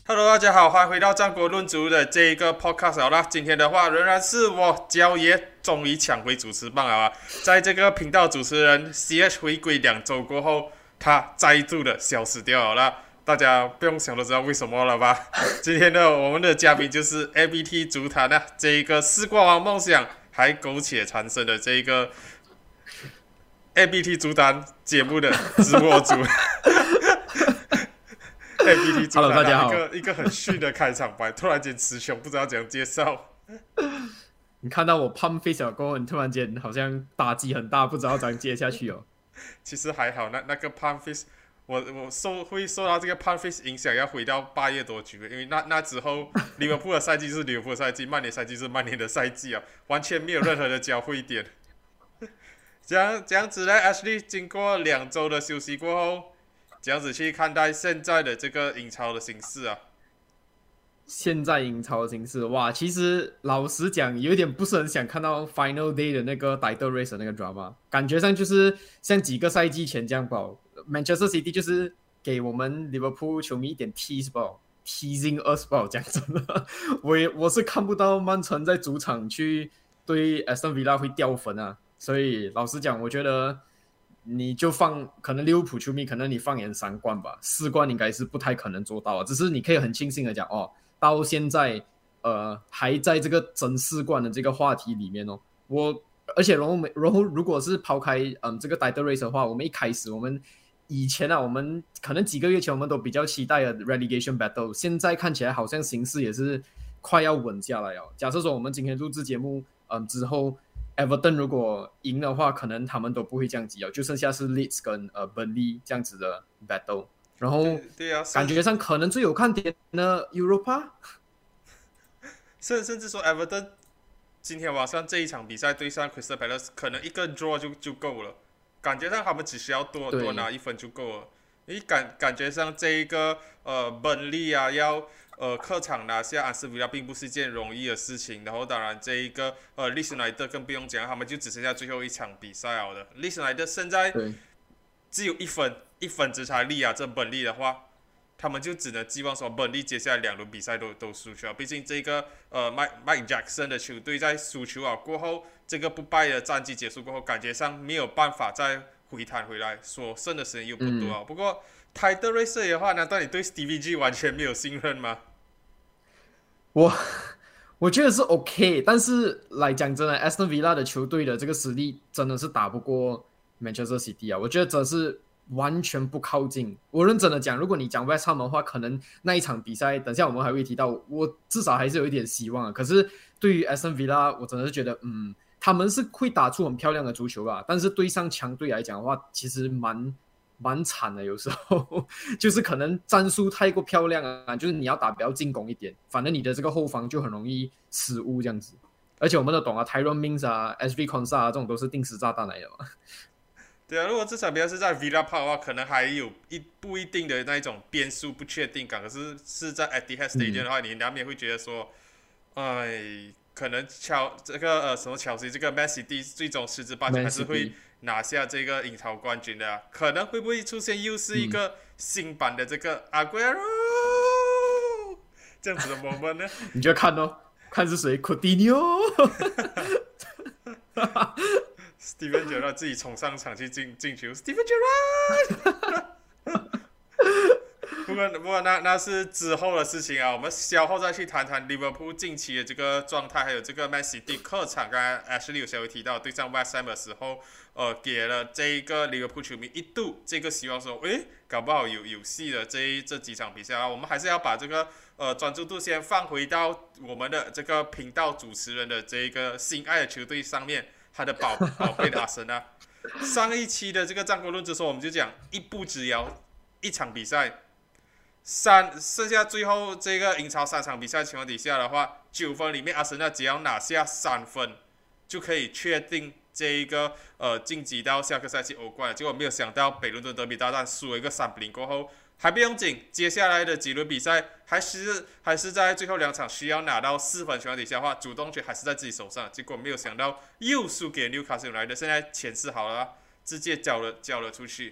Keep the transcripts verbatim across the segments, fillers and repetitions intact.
Hello，大家好，欢迎回到战国论足的这一个 podcast 好啦。今天的话，仍然是我焦爷终于抢回主持棒了啊！在这个频道主持人 C H 回归两周过后，他再度的消失掉了啦。大家不用想都知道为什么了吧？今天的我们的嘉宾就是 A B T 足坛啊，这一个四冠王梦想还苟且缠身的这一个 A B T 足坛节目的直播主。A B T 主 Hello， 大家好。 一个一个很逊的开场白，突然间词穷，不知道怎样介绍。 你看到我 pump face 了过后，你突然间好像打击很大，不知道怎样接下去哦。 其实还好，那那个 pump face， 我我受会受到这个 pump face 影响，要回到八月多局，因为那那之后利物浦的赛季是利物浦的赛季，曼联赛季是曼联的赛季啊，完全没有任何的交汇点。这样这样子呢 ，Ashley 经过两周的休息过后。这样子去看待现在的这个英超的形势啊？ 现在英超的形势，哇，其实老实讲，有点不是很想看到 Final Day 的那个 Title Race 的那个 drama， 感觉上就是像几个赛季前这样吧。Manchester City 就是给我们 Liverpool 球迷一点 tease 吧 ，teasing us 吧，讲真的，我也我是看不到曼城在主场去对 Aston Villa 会掉分啊，所以老实讲，我觉得。你就放，可能利物浦球迷，可能你放眼三冠吧，四冠应该是不太可能做到啊。只是你可以很庆幸的讲，哦，到现在，呃，还在这个争四冠的这个话题里面哦。我，而且然后然后如果是抛开嗯这个 title race 的话，我们一开始我们以前啊，我们可能几个月前我们都比较期待的 relegation battle， 现在看起来好像形势也是快要稳下来了。假设说我们今天录制节目，嗯之后。Everton 如果赢的话，可能他们都不会降级了，就剩下是 Leeds 跟呃 Burnley 这样子的 battle。然后对对啊， 感觉上可能最有看点的 Europa， 甚甚至说 Everton 今天晚上这一场比赛对上 Crystal Palace， 可能一个 draw 就就够了，感觉上他们只需要多多拿一分就够了。你感感觉上这一个呃 Burnley 啊要。呃，客场拿下安斯维拉并不是一件容易的事情。然后，当然这一个呃，利斯莱特更不用讲，他们就只剩下最后一场比赛了的。利斯莱特现在只有一分，一分之差利啊，这本利的话，他们就只能寄望说本利接下来两轮比赛都都输球。毕竟这个呃，Mike Mike Jackson 的球队在输球啊过后，这个不败的战绩结束过后，感觉上没有办法再回弹回来，所剩的时间又不多啊。嗯、不过。Title Race 的话，难道你对 Stevie G 完全没有信任吗？ 我我觉得是 OK， 但是来讲真的 ，Aston Villa 的球队的这个实力真的是打不过 Manchester City 啊！我觉得真是完全不靠近。我认真的讲，如果你讲 West Ham 的话，可能那一场比赛，等下我们还会提到，我至少还是有一点希望啊。可是对于 Aston Villa， 我真的是觉得，嗯，他们是会打出很漂亮的足球吧，但是对上强队来讲的话，其实蛮。蛮惨的，有时候就是可能战术太过漂亮啊，就是你要打比较进攻一点，反正你的这个后防就很容易失误这样子。而且我们都懂啊 ，Tyrone Mings 啊 ，S V Konsa 啊，这种都是定时炸弹来的嘛。 对啊，如果这场比赛是在 Villa Park 的话，可能还有一不一定的那一种变数不确定感。可是是在 Etihad Stadium 的话，嗯、你难免会觉得说，哎，可能乔这个呃什么乔西这个 Man City 最终十之八九还是会。拿下这个英超冠军的、啊，可能会不会出现又是一个新版的这个阿圭罗这样子的 moment 呢？ 你就看哦，看是谁 ，Coutinho。 Steven Gerrard 自己冲上场去进进球 ，Steven Gerrard 。不过不过那那是之后的事情啊，我们稍后再去谈谈利物浦近期的这个状态，还有这个 Man City 客场，刚才 Ashley 有稍微提到对上 West Ham 的时候，呃，给了这一个利物浦球迷一度这个希望说，诶，搞不好有有戏的这这几场比赛啊，我们还是要把这个呃专注度先放回到我们的这个频道主持人的这一个心爱的球队上面，他的宝宝贝的阿森纳。上一期的这个战国论之说，我们就讲一步之遥，一场比赛。三剩下最后这个英超三场比赛情况底下的话，九分里面阿森纳只要拿下三分，就可以确定这一个呃晋级到下个赛季欧冠。结果没有想到北伦敦德比大战输了一个三比零过后，还不用紧，接下来的几轮比赛还是还是在最后两场需要拿到四分情况底下的话，主动权还是在自己手上。结果没有想到又输给纽卡斯来的，现在前四好了，直接交了交了出去。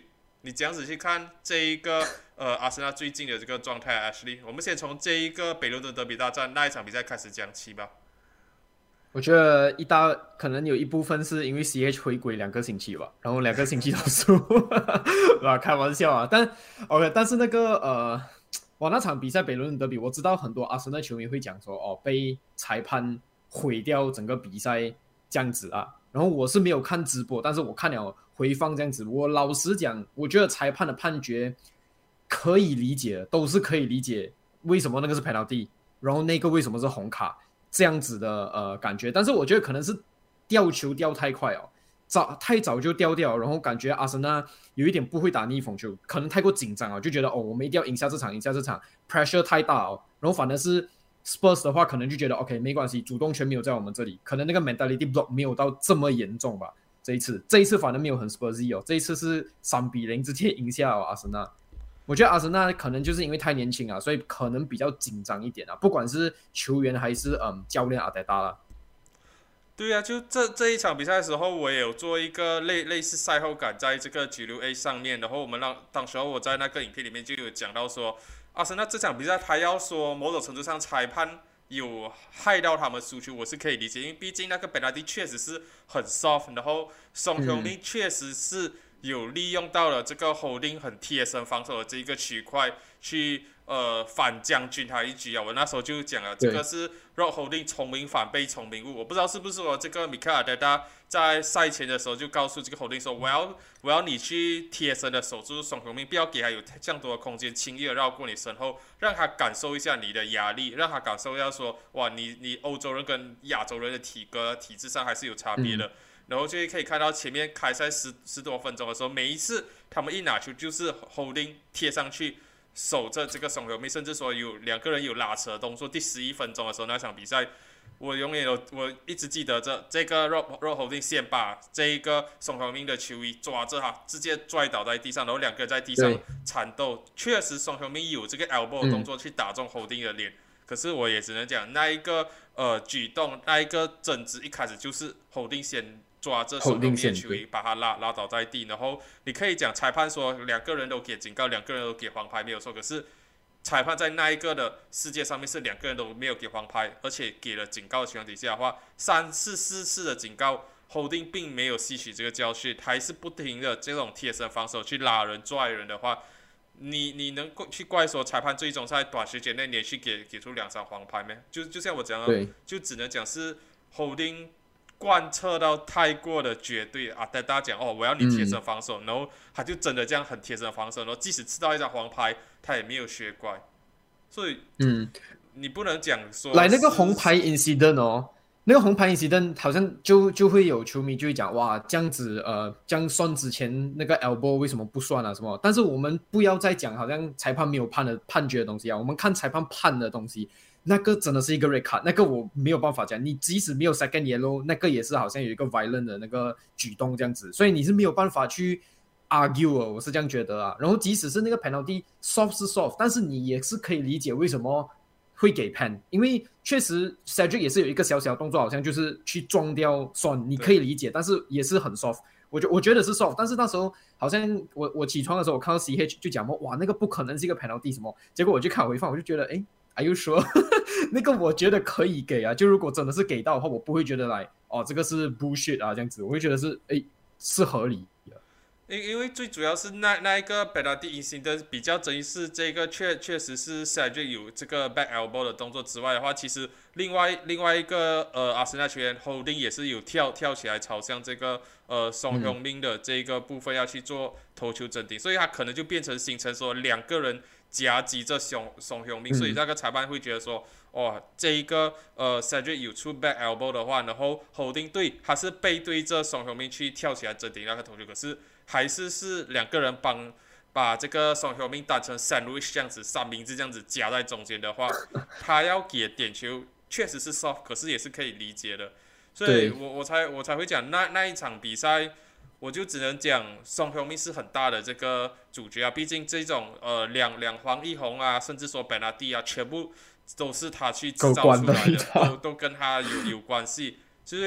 你这样子去看这一个呃阿森纳最近的这个状态 ，Ashley， 我们先从这一个北伦敦德比大战那一场比赛开始讲起吧。 我觉得一大可能有一部分是因为 C H 回归两个星期吧，然后两个星期都输，啊，开玩笑啊。但 OK， 但是那个呃，哇，那场比赛北伦敦德比，我知道很多阿森纳球迷会讲说，哦，被裁判毁掉整个比赛这样子啊。然后我是没有看直播，但是我看了回放这样子。我老实讲，我觉得裁判的判决可以理解，都是可以理解为什么那个是 penalty， 然后那个为什么是红卡。这样子的呃感觉，但是我觉得可能是掉球掉太快哦，早太早就掉掉，然后感觉阿森纳有一点不会打逆风球，可能太过紧张啊，就觉得哦，我们一定要赢下这场，赢下这场 ，pressure 太大哦，然后反而是 Spurs 的话，可能就觉得 OK 没关系，主动权没有在我们这里，可能那个 mentality block 没有到这么严重吧。这一次，这一次反而没有很 Spursy 哦，这一次是三比零直接赢下哦阿森纳。我觉得阿森纳可能就是因为太年轻啊，所以可能比较紧张一点啊，不管是球员还是嗯教练阿德达啦。 对啊，就这这一场比赛的时候，我也有做一个类类似赛后感，在这个 G 六 A 上面，然后我们让当时候我在那个影片里面就有讲到说，阿森纳这场比赛他要说某种程度上裁判有害到他们输球，我是可以理解，因为毕竟那个本拉蒂确实是很 soft， 然后宋雄林确实是有利用到了这个 holding 很贴身防守的这一个区块去呃反将军他一局啊。我那时候就讲了，这个是 Rob Holding 聪明反被聪明误。我不知道是不是我这个米凯尔德达在赛前的时候就告诉这个 Holding 说，我要我要你去贴身的守住宋雄明，不要给他有这样多的空间，轻易的绕过你身后，让他感受一下你的压力，让他感受一下说，哇，你你欧洲人跟亚洲人的体格体质上还是有差别的。嗯，然后就可以看到前面开赛十十多分钟的时候，每一次他们一拿球就是 holding 贴上去守着这个宋雄明，甚至说有两个人有拉扯的动作。第十一分钟的时候那场比赛，我永远有我一直记得这这个 Rob Rob Holding 先把这一个宋雄明的球衣抓着他，直接拽倒在地上，然后两个人在地上缠斗。确实宋雄明有这个 elbow 的动作去打中 Holding 的脸。嗯，可是我也只能讲，那一个呃举动，那一个争执一开始就是 Holding 先抓着宋雄明的球衣，把他拉拉倒在地。然后你可以讲裁判说两个人都给警告，两个人都给黄牌没有错。可是裁判在那一个的世界上面是两个人都没有给黄牌，而且给了警告的情况底下的话，三次四次的警告 ，Holding 并没有吸取这个教训，还是不停的这种贴身防守去拉人拽人的话。你你能去怪说裁判最终在短时间内连续给给出两张黄牌吗？就就像我讲的，就只能讲是 Holding 贯彻到太过的绝对啊！大家讲哦，我要你贴身防守，嗯，然后他就真的这样很贴身防守，然后即使吃到一张黄牌，他也没有学乖，所以嗯，你不能讲说来那个红牌 incident 哦。那个红牌 incident 好像就就会有球迷就会讲哇，这样子呃，这样算之前那个 elbow 为什么不算啊什么？但是我们不要再讲好像裁判没有判的判决的东西啊，我们看裁判判的东西，那个真的是一个 red card， 那个我没有办法讲，你即使没有 second yellow， 那个也是好像有一个 violent 的那个举动这样子，所以你是没有办法去 argue 的，我是这样觉得啊。然后即使是那个 penalty soft 是 soft， 但是你也是可以理解为什么会给 pen， 因为确实 Cedric 也是有一个小小动作，好像就是去撞掉 Son， 你可以理解，但是也是很 soft。我觉我觉得是 soft， 但是那时候好像我我起床的时候，我看到 C H 就讲哇，那个不可能是一个 penalty 什么，结果我去看回放，我就觉得哎 ，Are you sure？ 那个我觉得可以给啊，就如果真的是给到的话，我不会觉得来哦，这个是 bullshit 啊这样子，我会觉得是哎是合理的。 因因为最主要是那那一个 penalty incident 比较争议是这个确确实是 Cedric 有这个 back elbow 的动作之外的话，其实另外另外一个呃阿森纳球员 Holding 也是有跳跳起来朝向这个呃宋雄明的这个部分要去做头球争顶，所以他可能就变成形成说两个人夹击着宋宋雄明，所以那个裁判会觉得说。哦，这一个呃 Cedric 有出 back elbow 的话，然后 Holding 对他是背对着宋雄明去跳起来争顶那个头球，可是还是是两个人帮把这个宋雄明当成 sandwich 这样子三明治这样子夹在中间的话，他要给点球确实是 soft， 可是也是可以理解的，所以我我才我才会讲那那一场比赛。我就只能讲宋雄明是很大的这个主角啊，毕竟这种呃两两黄一红啊，甚至说本拉蒂啊，全部都是他去制造出来的，都都跟他有有关系。所以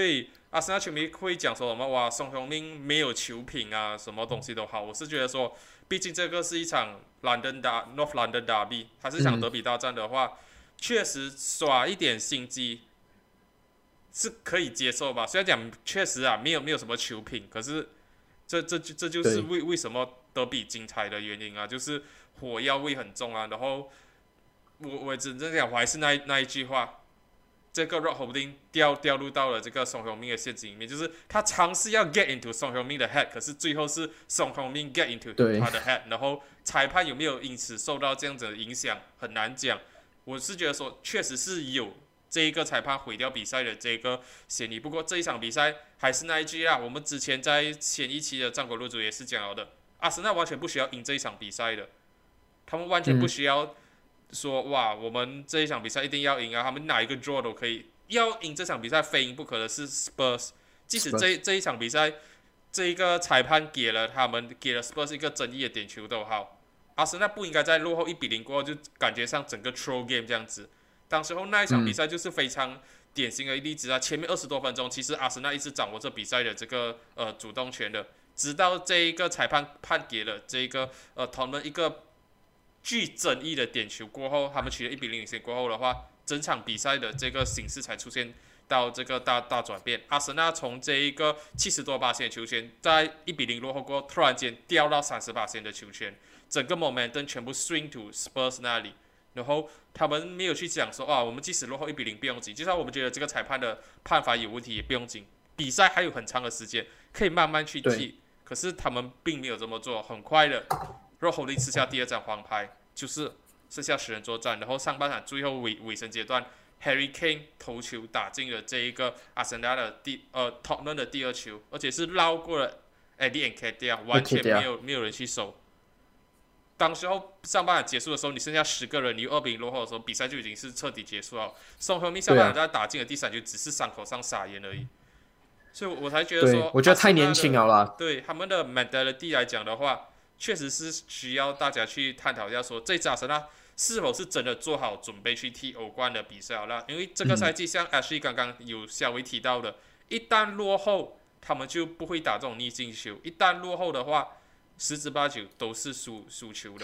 阿森纳球迷会讲说什么哇，宋雄明没有球品啊，什么东西都好。我是觉得说，毕竟这个是一场 London 打 North London Derby， 它是一场德比大战的话，嗯、确实耍一点心机是可以接受吧。虽然讲确实啊，没有没有什么球品，可是这这这就是为为什么德比精彩的原因啊，就是火药味很重啊。然后我我只能讲，我还是那那一句话。这个 Rob Holding 掉掉入到了这个宋宏明的陷阱里面，就是他尝试要 get into 宋宏明的 head， 可是最后是宋宏明 get into 他的 head， 然后裁判有没有因此受到这样子的影响很难讲。我是觉得说，确实是有这一个裁判毁掉比赛的这个嫌疑。不过这一场比赛还是那一句啦，我们之前在前一期的战国论足也是讲了的，阿森纳完全不需要赢这一场比赛的，他们完全不需要。嗯说哇，我们这一场比赛一定要赢啊！他们哪一个 draw 都可以，要赢这场比赛非赢不可的是 Spurs。即使这这一场比赛，这一个裁判给了他们给了 Spurs 一个争议的点球都好，阿森纳不应该在落后一比零过后就感觉上整个 throw game 这样子。当时候那一场比赛就是非常典型的例子啊！前面二十多分钟，其实阿森纳一直掌握着比赛的这个呃主动权的，直到这一个裁判判给了这一个呃他们一个。具争议的点球过后，他们取得一比零领先过后的话，整场比赛的这个形势才出现到这个大大转变。阿森纳从这一个七十多巴仙的球权，在一比零落后过后，突然间掉到三十巴仙的球权，整个 momentum 全部 swing to Spurs 那里。然后他们没有去讲说啊，我们即使落后一比零不用紧，就算我们觉得这个裁判的判罚有问题也不用紧，比赛还有很长的时间可以慢慢去踢。可是他们并没有这么做，很快的。Rob Holding 吃下第二张黄牌，就是剩下十人作战。然后上半场最后尾尾声阶段 ，Harry Kane 头球打进了这一个阿森纳的第呃 Tottenham 的第二球，而且是绕过了 Eddie Nketiah， 完全没有没有人去守。当时候上半场结束的时候，你剩下十个人，你二比零落后的时候，比赛就已经是彻底结束了。宋亨明上半场在打进了第三球，只是伤口上撒盐而已。所以我才觉得说， 我觉得太年轻了啦。 对他们的 mentality 来讲的话。确实是需要大家去探讨一下说，这支阿森纳是否是真的做好准备去踢欧冠的比赛了？因为这个赛季像 Ashley 刚刚有稍微提到的，一旦落后，他们就不会打这种逆境球；一旦落后的话，十之八九都是输输球的。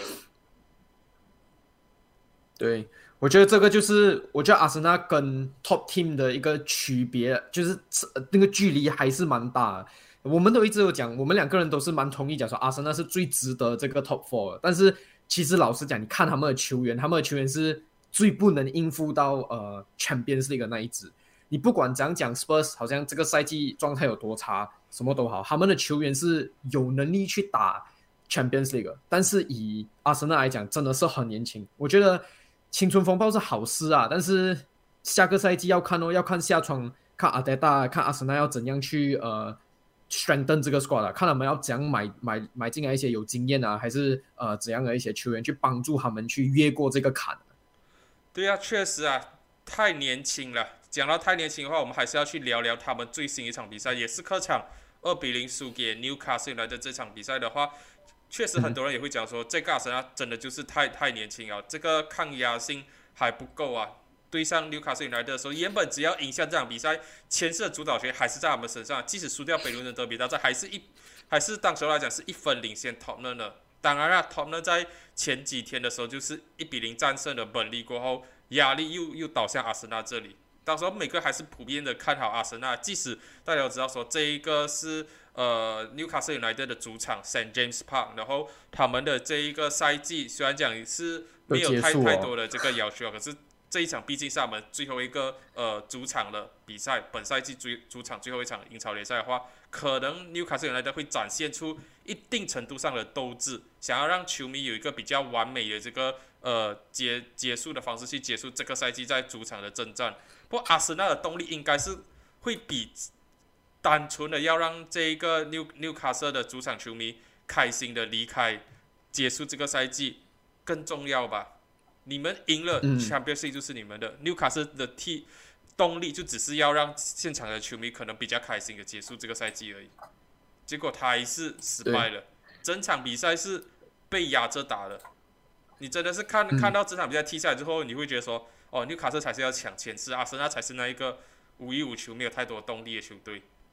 对，我觉得这个就是我觉得阿森纳跟 Top Team 的一个区别，就是那个距离还是蛮大的。我们都一直有讲，我们两个人都是蛮同意讲说阿森纳是最值得这个 top four 的，但是其实老实讲，你看他们的球员，他们的球员是最不能应付到呃 Champions League 的那一支。你不管怎样讲 Spurs 好像这个赛季状态有多差，什么都好，他们的球员是有能力去打 Champions League， 但是以阿森纳来讲，真的是很年轻。我觉得青春风暴是好事啊，但是下个赛季要看哦，要看下窗，看阿德达，看阿森纳要怎样去呃。strengthen 这个 squad 啊，看他们要怎样买买买进来一些有经验啊，还是呃怎样的一些球员去帮助他们去越过这个坎。 对啊，确实啊，太年轻了。讲到太年轻的话，我们还是要去聊聊他们最新一场比赛，也是客场二比零输给 Newcastle 来的这场比赛的话，确实很多人也会讲说，嗯、这个阿森纳真的就是太太年轻了，这个抗压性还不够啊。对上纽卡斯united的时候，原本只要赢下这场比赛，前世的主导权还是在他们身上。即使输掉北伦敦德比大战，还是一还是当时来讲是一分领先 Tottenham 的。当然了 ，Tottenham 在前几天的时候就是一比零战胜了本利过后，压力又又倒向阿森纳这里。到时候每个还是普遍的看好阿森纳，即使大家都知道说这一个是呃纽卡斯 united 的主场 Saint James Park， 然后他们的这一个赛季虽然讲是没有太、哦、太多的这个要求，可是。这一场毕竟是他们最后一个呃主场的比赛，本赛季主主场最后一场英超联赛的话，可能纽卡斯united会展现出一定程度上的斗志，想要让球迷有一个比较完美的这个呃结结束的方式去结束这个赛季在主场的征战。不过阿森纳的动力应该是会比单纯的要让这一个纽纽卡斯的主场球迷开心的离开，结束这个赛季更重要吧。你们赢了 Champions League 就是你们的，纽卡斯的踢动力就只是要让现场的球迷可能比较开心的结束这个赛季而已。结果他还是失败了，整场比赛是被压着打的。你真的是看、嗯、看到这场比赛踢下来之后，你会觉得说，哦，纽卡斯才是要抢前四，阿森纳才是那一个无欲无求、没有太多动力的球队。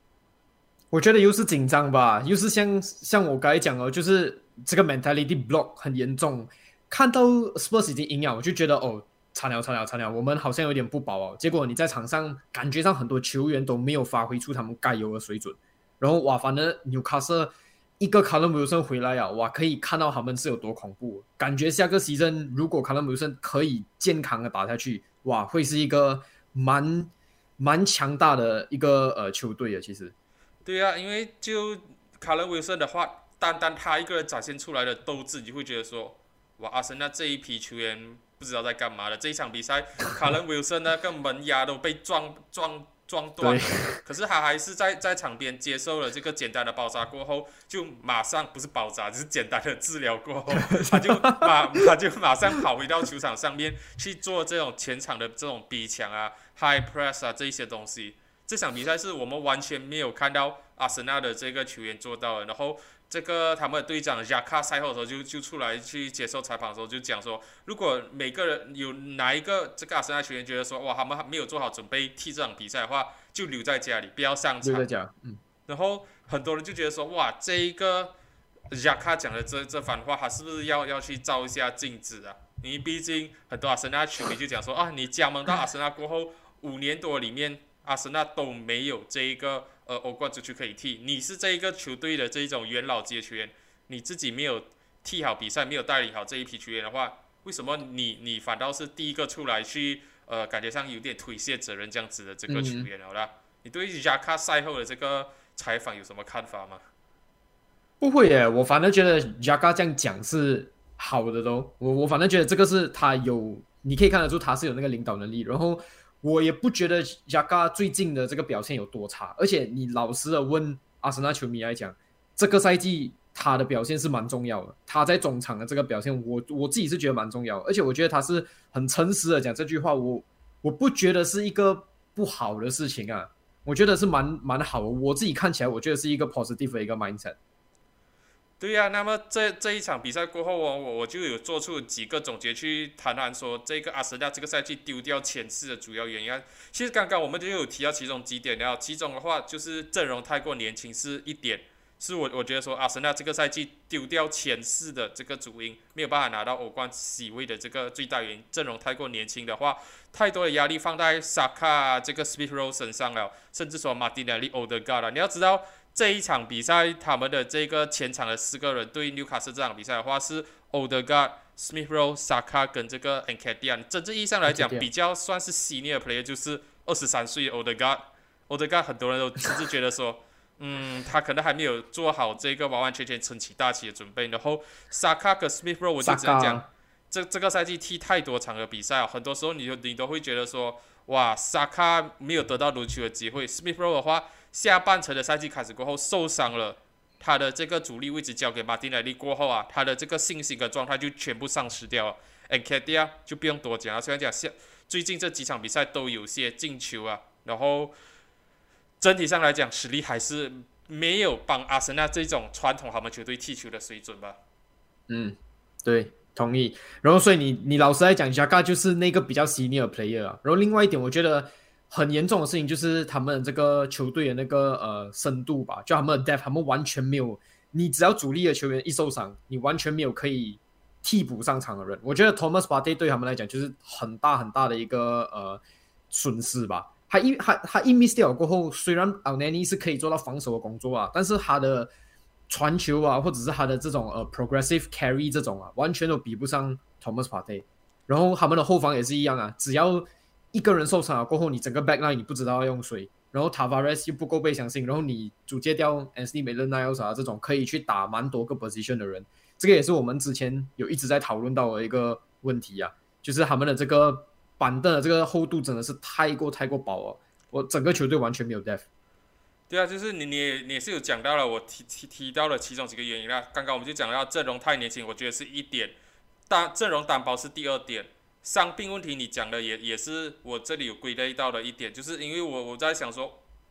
我觉得又是紧张吧，又是像像我刚才讲哦，就是这个 mentality block 很严重。看到 Spurs 已经赢了，我就觉得哦，惨了惨了惨了，我们好像有点不保哦。结果你在场上感觉上很多球员都没有发挥出他们该有的水准，然后哇，反正纽卡斯一个 Callum Wilson 回来啊，哇，可以看到他们是有多恐怖。感觉下个 season 如果 Callum Wilson 可以健康的打下去，哇，会是一个蛮蛮强大的一个呃球队啊，其实。 对啊，因为就卡伦威森的话，单单他一个人展现出来的斗志，你会觉得说，哇，阿森纳这一批球员不知道在干嘛的。这一场比赛，卡伦威森那个门牙都被撞撞撞断了，可是他还是在在场边接受了这个简单的包扎过后，就马上不是包扎，只是简单的治疗过后，他就马他就马上跑回到球场上面去做这种前场的这种逼抢啊、high press 啊这一些东西。这场比赛是我们完全没有看到阿森纳的这个球员做到的。然后这个他们的队长雅卡赛后的时候就就出来去接受采访的时候就讲说，如果每个人有哪一个这个阿森纳球员觉得说哇他们没有做好准备踢这场比赛的话，就留在家里不要上场。 留在家，嗯。 然后很多人就觉得说哇这一个雅卡讲的这这番话，他是不是要要去照一下镜子啊？因为毕竟很多阿森纳球迷就讲说啊，你加盟到阿森纳过后五年多里面。阿森纳都没有这一个呃欧冠足球可以踢，你是这一个球队的这一种元老级的球员，你自己没有踢好比赛，没有带领好这一批球员的话，为什么你你反倒是第一个出来去呃感觉上有点推卸责任这样子的这个球员好啦？嗯、你对雅卡赛后的这个采访有什么看法吗？ 不会耶，我反正觉得雅卡这样讲是好的都，我我反正觉得这个是他有，你可以看得出他是有那个领导能力，然后。我也不觉得雅卡最近的这个表现有多差，而且你老实的问阿森纳球迷来讲，这个赛季他的表现是蛮重要的，他在中场的这个表现我，我自己是觉得蛮重要的，而且我觉得他是很诚实的讲这句话，我我不觉得是一个不好的事情啊，我觉得是蛮蛮好的，我自己看起来我觉得是一个 positive 的一个 mindset。 对呀、啊，那么这这一场比赛过后哦，我我就有做出几个总结去谈谈说这个阿森纳这个赛季丢掉前四的主要原因啊。其实刚刚我们就有提到其中几点了，其中的话就是阵容太过年轻是一点，是我我觉得说阿森纳这个赛季丢掉前四的这个主因，没有办法拿到欧冠 C 位的这个最大原因，阵容太过年轻的话，太多的压力放在萨卡这个 Smith Rowe 身上了，甚至说马丁内利、欧德加了，你要知道。这一场比赛，他们的这个前场的四个人对纽卡斯这场比赛的话是 Odegaard、Smith Rowe、Saka 跟这个 Nketiah。真正意义上来讲，比较算是 senior player，就是二十三岁的 Odegaard。Odegaard 很多人都甚至觉得说，嗯，他可能还没有做好这个完完全全撑起大旗的准备。然后 Saka 跟 Smith Rowe 我就只能讲，这这个赛季踢太多场的比赛，很多时候你就你都会觉得说，哇 ，Saka 没有得到轮球的机会 ，Smith Rowe 的话。下半程的赛季开始过后受伤了，他的这个主力位置交给马丁内利过后啊，他的这个信心跟状态就全部丧失掉了。Nketiah 就不用多讲了，虽然讲下最近这几场比赛都有些进球啊，然后整体上来讲实力还是没有帮阿森纳这种传统豪门球队踢球的水准吧。 嗯，对，同意。然后所以你你老实来讲 ，Xhaka 就是那个比较 senior player 啊。然后另外一点，我觉得。很严重的事情就是他们这个球队的那个呃深度吧，就他们的 depth， 他们完全没有，你只要主力的球员一受伤，你完全没有可以替补上场的人。我觉得 Thomas Partey 对他们来讲就是很大很大的一个呃损失吧。他一他他一 miss 掉过后，虽然 Elneny 是可以做到防守的工作啊，但是他的传球啊，或者是他的这种呃 progressive carry 这种啊，完全都比不上 Thomas Partey。然后他们的后防也是一样啊，只要一个人受伤了过后，你整个 backline 你不知道要用谁，然后 Tavares 又不够被相信，然后你租借掉 Anthony Maitland-Niles 啊这种可以去打蛮多个 position 的人，这个也是我们之前有一直在讨论到的一个问题啊，就是他们的这个板凳的这个厚度真的是太过太过薄了，我整个球队完全没有 depth。 对啊，就是你你也你也是有讲到了，我提提提到了其中几个原因啦。刚刚我们就讲到阵容太年轻，我觉得是一点，单阵容单薄是第二点。伤病问题你讲的也也是我这里有归类到的一点，就是因为我我在想说，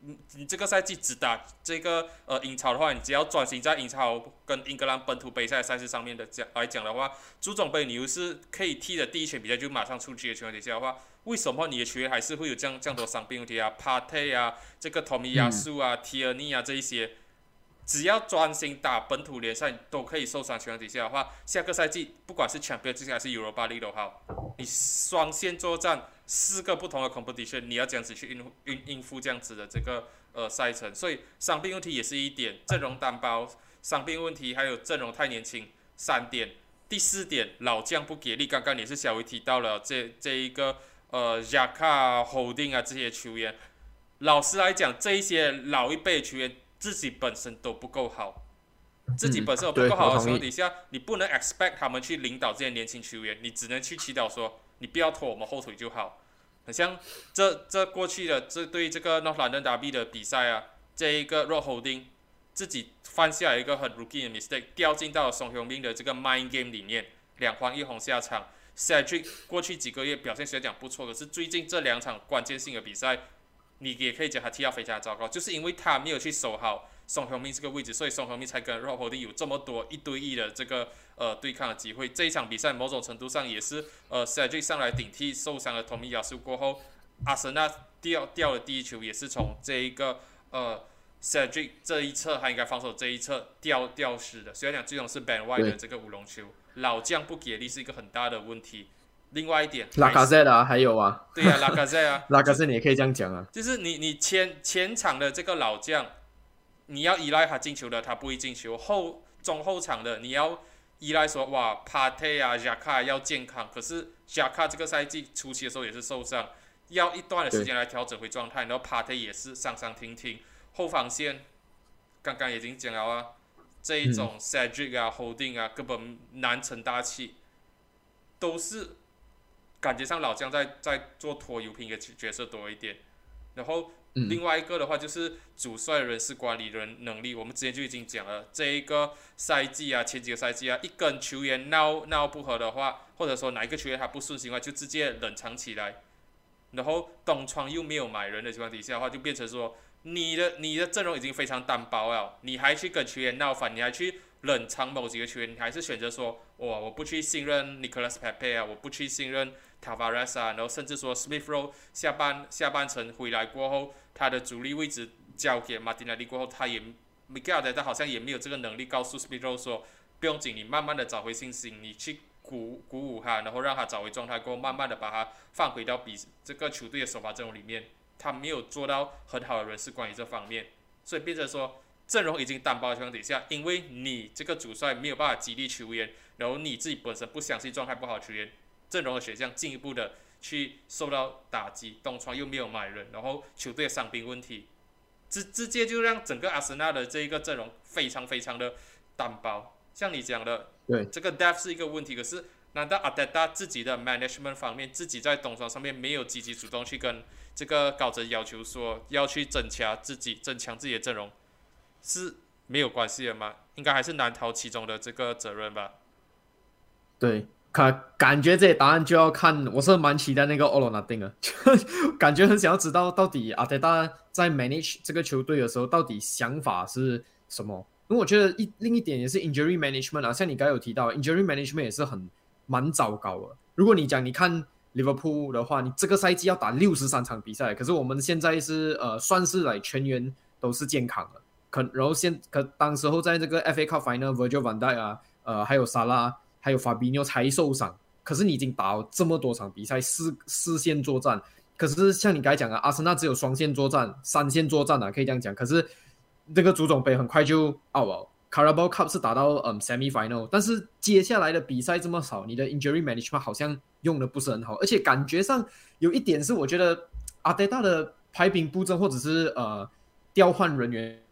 你你这个赛季只打这个呃英超的话，你只要专心在英超跟英格兰本土杯赛赛事上面的讲来讲的话，足总杯你又是可以踢的第一圈比赛就马上出局的情况底下的话，为什么你的球员还是会有这样这样多伤病问题啊 ？Partey 啊，这个 Tomiyasu 啊、嗯、Tierney 啊这一些，只要专心打本土联赛都可以受伤情况底下的话，下个赛季不管是 Champions League 还是 Europa League 都好，你双线作战。四个不同的 competition， 你要这样子去应应应付这样子的这个呃赛程，所以伤病问题也是一点，阵容单薄，伤病问题还有阵容太年轻，三点。第四点，老将不给力，刚刚也是小维提到了这这一个呃 Xhaka、Holding 啊这些球员，老实来讲，这一些老一辈的球员自己本身都不够好。自己本身都不够好的情况底下，嗯、你不能 expect 他们去领导这些年轻球员，你只能去祈祷说，你不要拖我们后腿就好。很像这这过去的这对这个 North London Derby 的比赛啊，这一个 Rob Holding 自己犯下一个很 rookie 的 mistake， 掉进到了宋雄斌的这个 mind game 里面，两黄一红下场。Cedric 过去几个月表现虽然讲不错，可是最近这两场关键性的比赛，你也可以讲他踢到非常糟糕，就是因为他没有去守好宋雄斌这个位置，所以宋雄斌才跟 Rob Holding 有这么多一对一的这个呃对抗的机会。这一场比赛某种程度上也是呃 Cedric 上来顶替受伤的 Tomiyasu 过后，阿森纳掉掉的第一球也是从这一个呃 Cedric 这一侧，他应该防守这一侧掉掉失的。虽然讲最终是 Ben White 的这个乌龙球，老将不给力是一个很大的问题。另外一点， 拉卡塞啊，还有啊， 对呀、啊，拉卡塞啊， 拉卡塞你也可以这样讲啊， 就是你你前前场的这个老将。你要依赖他进球的，他不会进球。后中后场的，你要依赖说哇 ，Partey 啊 ，Xhaka 要健康。可是 Xhaka 这个赛季初期的时候也是受伤，要一段的时间来调整回状态。然后 Partey 也是伤伤停停。后防线刚刚已经讲了啊，这一种 Cedric 啊、Holding 啊，根本难成大器，都是感觉上老将在在做拖油瓶的角色多一点。然后。另外一个的话就是主帅人事管理人能力，我们之前就已经讲了，这一个赛季啊，前几个赛季啊，一跟球员闹闹不和的话，或者说哪一个球员他不顺心的话，就直接冷藏起来。然后东窗又没有买人的情况底下的话，就变成说你的你的阵容已经非常单薄了，你还去跟球员闹翻，你还去冷藏某几个球员，你还是选择说，哇，我不去信任 Nicolas Pepe 啊，我不去信任 Tavares 啊，然后甚至说 Smith Rowe 下半下半程回来过后，他的主力位置交给马丁内利过后，他也 Mikel Arteta 好像也没有这个能力告诉 Smith Rowe 说，不用紧，你慢慢的找回信心，你去鼓鼓舞他，然后让他找回状态过后，慢慢的把他放回到比这个球队的首发阵容里面，他没有做到很好的人事管理这方面，所以变成说阵容已经单薄的情况底下，因为你这个主帅没有办法激励球员，然后你自己本身不相信状态不好的球员，阵容的选项进一步的去受到打击，东窗又没有买人，然后球队的伤病问题，直直接就让整个阿森纳的这一个阵容非常非常的单薄。像你讲的， 对， 这个 depth 是一个问题，可是难道阿德达自己的 management 方面，自己在东窗上面没有积极主动去跟这个高层要求说要去增强自己、增强自己的阵容，是没有关系的吗？应该还是难逃其中的这个责任吧。 对，感感觉这些答案就要看，我是蛮期待那个 All or Nothing 的，感觉很想要知道到底阿德达在 manage 这个球队的时候，到底想法是什么。因为我觉得一另一点也是 injury management 啊，像你刚才有提到 injury management 也是很蛮糟糕的。如果你讲你看 Liverpool 的话，你这个赛季要打六十三场比赛，可是我们现在是呃算是来全员都是健康的，可然后现可当时候在这个 F A Cup Final Virgil van Dijk 啊，呃还有萨拉还有 Fabinho 才受伤，可是你已经打了这么多场比赛，四四线作战，可是像你刚才讲的，阿森纳只有双线作战、三线作战啊，可以这样讲，可是。这个足总杯很快就 out 了 ，Carabao Cup 是打到嗯 semi final， 但是接下来的比赛这么少，你的 injury management 好像用的不是很好，而且感觉上有一点是我觉得阿德达的排兵布阵或者是呃调换人员，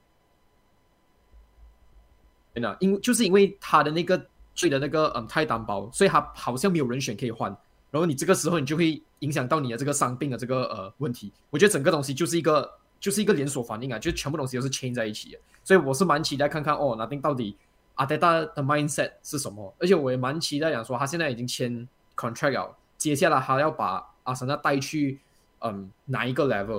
因就是因为他的那个队的那个嗯太单薄，所以他好像没有人选可以换，然后你这个时候你就会影响到你的这个伤病的这个呃问题，我觉得整个东西就是一个。就是一个连锁反应啊，就全部东西都是 chain 在一起的，所以我是蛮期待看看哦，那到底阿德达的 mindset 是什么，而且我也蛮期待讲说他现在已经签 contract 了，接下来他要把阿森纳带去嗯哪一个 level，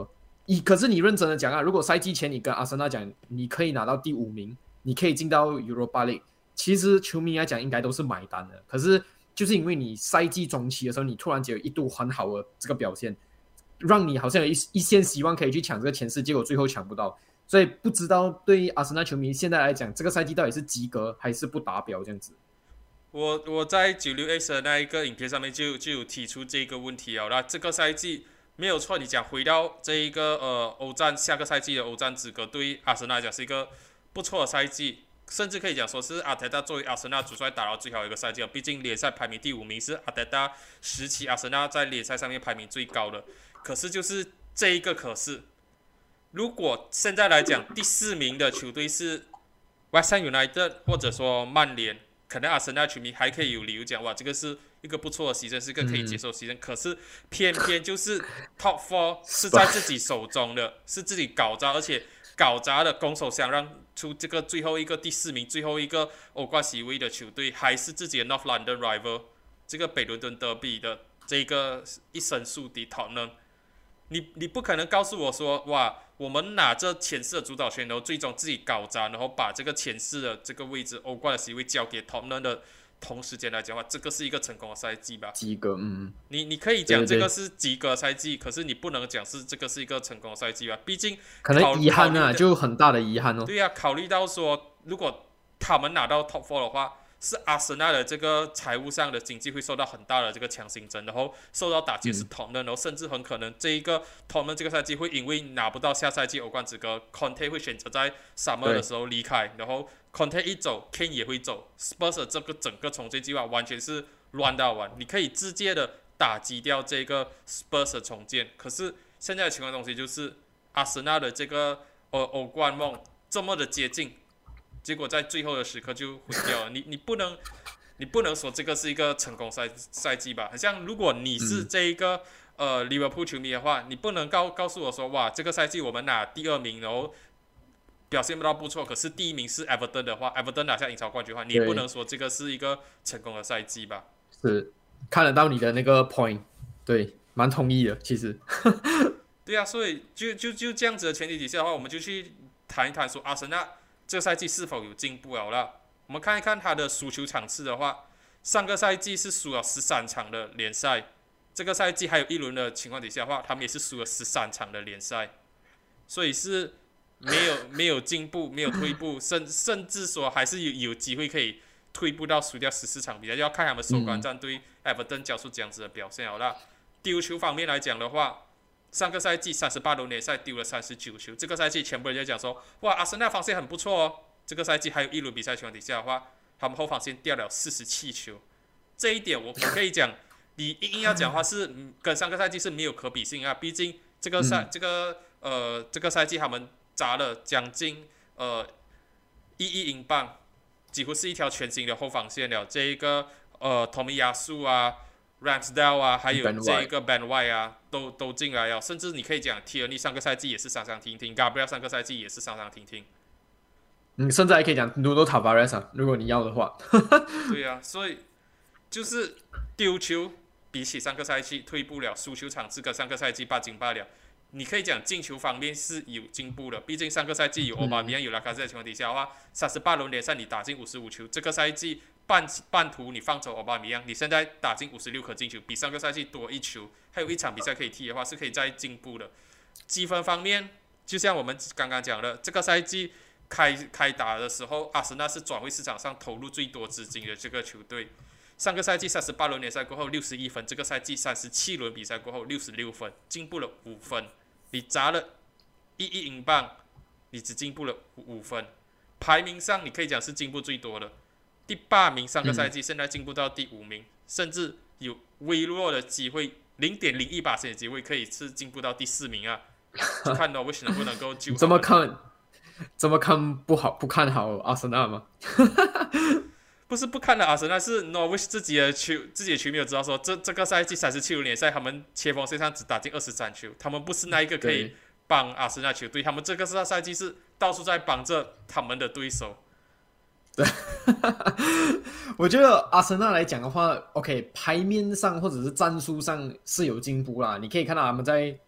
你可是你认真的讲啊，如果赛季前你跟阿森纳讲，你可以拿到第五名，你可以进到 Europa League， 其实球迷来讲应该都是买单的。可是就是因为你赛季中期的时候，你突然间有一度很好的这个表现，让你好像有 一, 一线希望可以去抢这个前四，结果最后抢不到。所以不知道对于阿森纳球迷现在来讲，这个赛季到底是及格还是不达标这样子。 我我在九六 X 的那一个影片上面就就有提出这个问题啊，那这个赛季没有错，你讲回到这一个呃欧战下个赛季的欧战资格，对于阿森纳来讲是一个不错的赛季，甚至可以讲说是阿泰达作为阿森纳主帅打到最好一个赛季，毕竟联赛排名第五名是阿泰达时期阿森纳在联赛上面排名最高的。可是就是这一个可是，如果现在来讲第四名的球队是 West Ham United 或者说曼联，可能阿森纳球迷还可以有理由讲哇，这个是一个不错的season，是一个可以接受的season，嗯，可是偏偏就是 Top Four 是在自己手中的，是自己搞砸，而且搞砸的拱手相让出这个最后一个第四名，最后一个欧冠席位的球队，还是自己的 North London Rival 这个北伦敦德比的这个一生宿敌 Tottenham。你你不可能告诉我说，哇，我们拿着前四的主导权，然后最终自己搞砸，然后把这个前四的这个位置欧冠的席位交给 Tottenham 的同时间来讲的话，这个是一个成功的赛季吧？ 及格，嗯， 你你可以讲这个是及格赛季，可是你不能讲是这个是一个成功的赛季吧？毕竟可能遗憾啊，就很大的遗憾哦。 对呀，啊，考虑到说，如果他们拿到 Top Four 的话，是阿森纳的这个财务上的经济会受到很大的这个强心针，然后受到打击是 Tottenham，然后甚至很可能这一个 Tottenham 这个赛季会因为拿不到下赛季欧冠资格 ，Conte 会选择在 Summer 的时候离开，然后 Conte 一走 ，Kane 也会走 ，Spurs 的这个整个重建计划完全是乱到完，你可以直接的打击掉这个 Spurs 的重建。可是现在的情况东西就是阿森纳的这个呃欧冠梦这么的接近。结果在最后的时刻就毁掉了。你你不能，你不能说这个是一个成功赛赛季吧？好像如果你是这一个、嗯、呃利物浦球迷的话，你不能告告诉我说，哇，这个赛季我们拿第二名，然后表现不到不错，可是第一名是 Everton 的话 ，Everton 拿下英超冠军的话，你也不能说这个是一个成功的赛季吧？ 是看得到你的那个 point， 对，蛮同意的，其实。 对啊，所以就就就这样子的前提底下的话，我们就去谈一谈说阿森纳这个赛季是否有进步了啦？我们看一看他的输球场次的话，上个赛季是输了十三场的联赛，这个赛季还有一轮的情况底下的话，他们也是输了十三场的联赛，所以是没有没有进步，没有退步，甚甚至说还是有有机会可以退步到输掉十四场比赛，就要看他们首关战对 Everton 交出这样子的表现好啦。丢球方面来讲的话，上个赛季三十八轮联赛丢了三十九球，这个赛季全部人就讲说，哇，阿森纳防线很不错哦。这个赛季还有一轮比赛情况底下的话，他们后防线掉了四十七球，这一点我可以讲，你硬要讲的话是跟上个赛季是没有可比性啊。毕竟这个赛、嗯、这个呃这个赛季他们砸了将近呃一亿英镑，几乎是一条全新的后防线了。这一个呃托米亚苏啊。Ramsdale 啊，还有这一个 Ben White 啊，都都进来了，甚至你可以讲 Tierney 上个赛季也是伤伤停停 ，Gabriel 上个赛季也是伤伤停停。 嗯，甚至还可以讲 Nuno Tavares 啊，如果你要的话。 对啊，所以就是丢球比起上个赛季退步了，输球场次跟上个赛季八斤八两。你可以讲进球方面是有进步的，毕竟上个赛季有欧巴米扬有拉卡塞的情况底下的话，三十八轮联赛你打进五十五球，这个赛季半半途你放走欧巴米扬，你现在打进五十六颗进球，比上个赛季多一球，还有一场比赛可以踢的话，是可以再进步的。积分方面，就像我们刚刚讲的，这个赛季开开打的时候，阿森纳是转会市场上投入最多资金的这个球队。上个赛季三十八轮联赛过后六十一分，这个赛季三十七轮比赛过后六十六分，进步了五分。你砸了一亿英镑，你只进步了五分，排名上你可以讲是进步最多的。第八名上个赛季，现在进步到第五名，嗯、甚至有微弱的机会，零点零一百分的机会可以是进步到第四名啊！就看到为什么不能够救？ 怎么看？怎么看不好？不看好阿森纳吗？ 不是不看好阿森纳，是 Norwich 自己的球自己的球迷有知道说，这这个赛季三十七轮联赛，他们切锋线上只打进二十三球，他们不是那一个可以帮阿森纳球队，他们这个赛季是到处在帮着他们的对手。 对，我觉得阿森纳来讲的话 ，OK， 牌面上或者是战术上是有进步啦。你可以看到他们在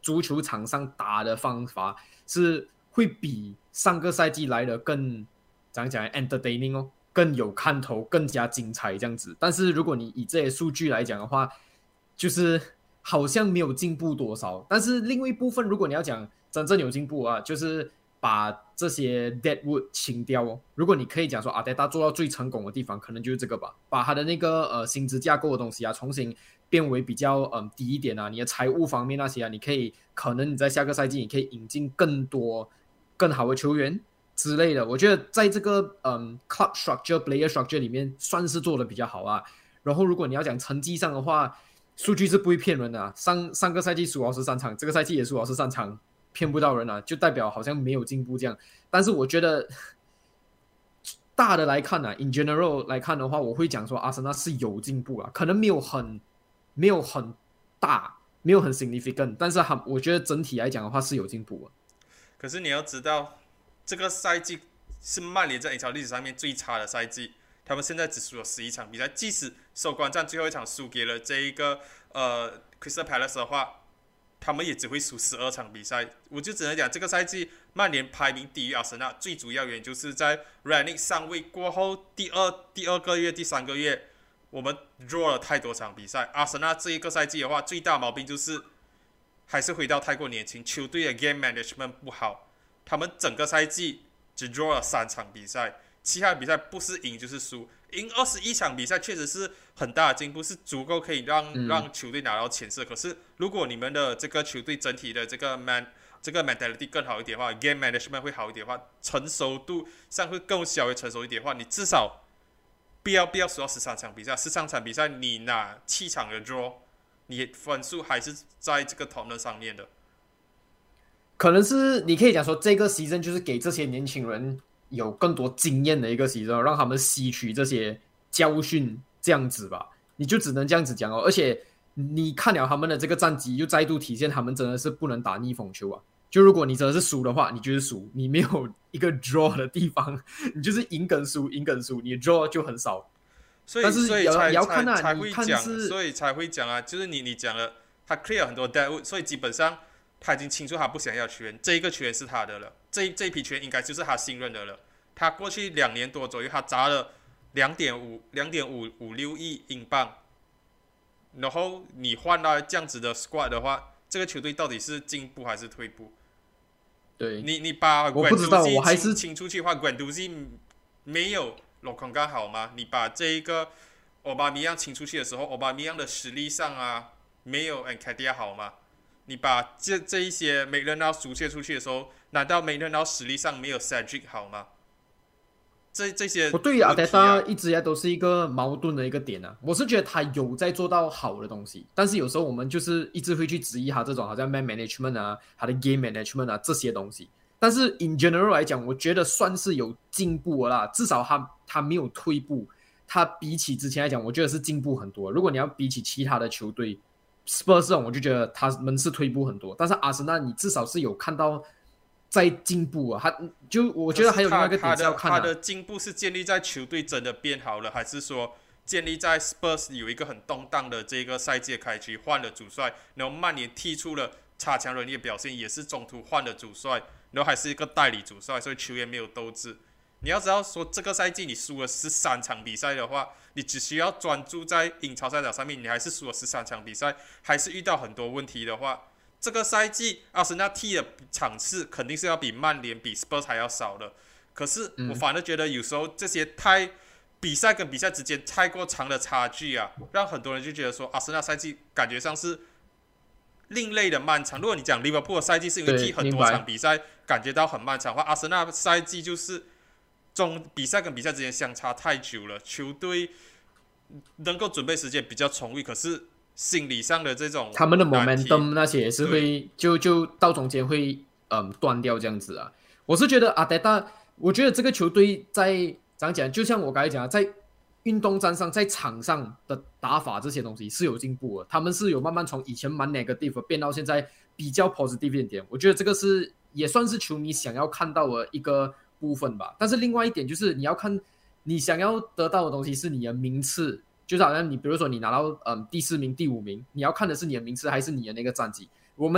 足球场上打的方法是会比上个赛季来的更怎样讲 entertaining 哦，更有看头，更加精彩这样子。但是如果你以这些数据来讲的话，就是好像没有进步多少。但是另外一部分，如果你要讲真正有进步啊，就是把这些 deadwood 清掉哦。如果你可以讲说阿德达做到最成功的地方，可能就是这个吧，把他的那个呃薪资架构的东西啊，重新变为比较嗯低一点啊，你的财务方面那些啊，你可以可能你在下个赛季你可以引进更多更好的球员之类的。我觉得在这个嗯 club structure、player structure 里面算是做的比较好啊。然后如果你要讲成绩上的话，数据是不会骗人的啊。上上个赛季输二十三场，这个赛季也输二十三场，骗不到人啊，就代表好像没有进步这样。但是我觉得大的来看啊 ，in general 来看的话，我会讲说阿森纳是有进步啊，可能没有很没有很大，没有很 significant， 但是我觉得整体来讲的话是有进步啊。 可是你要知道，这个赛季是曼联在英超历史上面最差的赛季。他们现在只输了十一场比赛，即使收官战最后一场输给了这一个呃 Crystal Palace 的话，他们也只会输十二场比赛。我就只能讲，这个赛季曼联排名低于阿森纳，最主要原因就是在 Rangnick 上位过后第二第二个月、第三个月，我们 draw 了太多场比赛。阿森纳这一个赛季的话，最大毛病就是还是回到太过年轻，球队的 game management 不好，他们整个赛季只 draw 了三场比赛。其他比赛不是赢就是输，赢二十一场比赛确实是很大的进步，是足够可以让、嗯、让球队拿到前四。可是如果你们的这个球队整体的这个 man 这个 mentality 更好一点的话 ，game management 会好一点的话，成熟度上会更稍微成熟一点的话，你至少不要不要输到十三场比赛，十三场比赛你拿七场的 draw， 你分数还是在这个讨论上面的。 可能是你可以讲说，这个 season 就是给这些年轻人有更多经验的一个season，让他们吸取这些教训，这样子吧，你就只能这样子讲哦。而且你看了他们的这个战绩，又再度体现他们真的是不能打逆风球啊。就如果你真的是输的话，你就是输，你没有一个 draw 的地方，你就是赢跟输，赢跟输，你的 draw 就很少。 所以， 但是所以才也要看啊， 才会讲， 是所以才会讲啊，就是你你讲了，他 clear 很多 deadwood， 所以基本上他已经清楚他不想要球员，这一个球员是他的了，这这一批球员应该就是他信任的了。他过去两年多左右，他砸了两点五两点五五六亿英镑，然后你换到这样子的 squad 的话，这个球队到底是进步还是退步？ 对， 你你把我不知道，我还是清出去的话 ，Guendouzi 没有洛康刚好吗？你把这一个奥巴梅扬清出去的时候，奥巴梅扬的实力上啊，没有 Nketiah 好吗？你把这这一些梅伦纳输切出去的时候，难道梅伦纳实力上没有 Cedric 好吗？这这些、啊， 我对于阿德达一直以来都是一个矛盾的一个点啊。我是觉得他有在做到好的东西，但是有时候我们就是一直会去质疑他这种好像 man management 啊，他的 game management 啊这些东西。但是 in general 来讲，我觉得算是有进步了啦，至少他他没有退步，他比起之前来讲，我觉得是进步很多。如果你要比起其他的球队 ，Spurs 这种，我就觉得他们是退步很多，但是阿森纳你至少是有看到在进步啊，他就我觉得还有另外一个点是要看、啊、 他的进步是建立在球队真的变好了，还是说建立在 Spurs 有一个很动荡的这个赛季开局换了主帅，然后曼联踢出了差强人意的表现，也是中途换了主帅，然后还是一个代理主帅，所以球员没有斗志。你要知道说这个赛季你输了十三场比赛的话，你只需要专注在英超赛场上面，你还是输了十三场比赛，还是遇到很多问题的话，这个赛季阿森纳踢的场次肯定是要比曼联比 Spurs 还要少的。可是我反而觉得有时候这些太比赛跟比赛之间太过长的差距啊，让很多人就觉得说阿森纳赛季感觉上是另类的漫长。如果你讲利物浦的赛季是因为踢很多场比赛感觉到很漫长的话，阿森纳赛季就是中比赛跟比赛之间相差太久了，球队能够准备时间比较充裕，可是心理上的这种他们的 momentum 那些也是会就就到中间会嗯断掉这样子啊。我是觉得阿德达，我觉得这个球队在怎样讲，就像我刚才讲，在运动战上，在场上的打法这些东西是有进步的，他们是有慢慢从以前蛮 negative 变到现在比较 positive 一点。我觉得这个是也算是球迷想要看到的一个部分吧。但是另外一点就是你要看你想要得到的东西是你的名次。就是好像你比如说你拿到、嗯、第四名第五名，你要看的是你的名次还是你的那个战绩。我们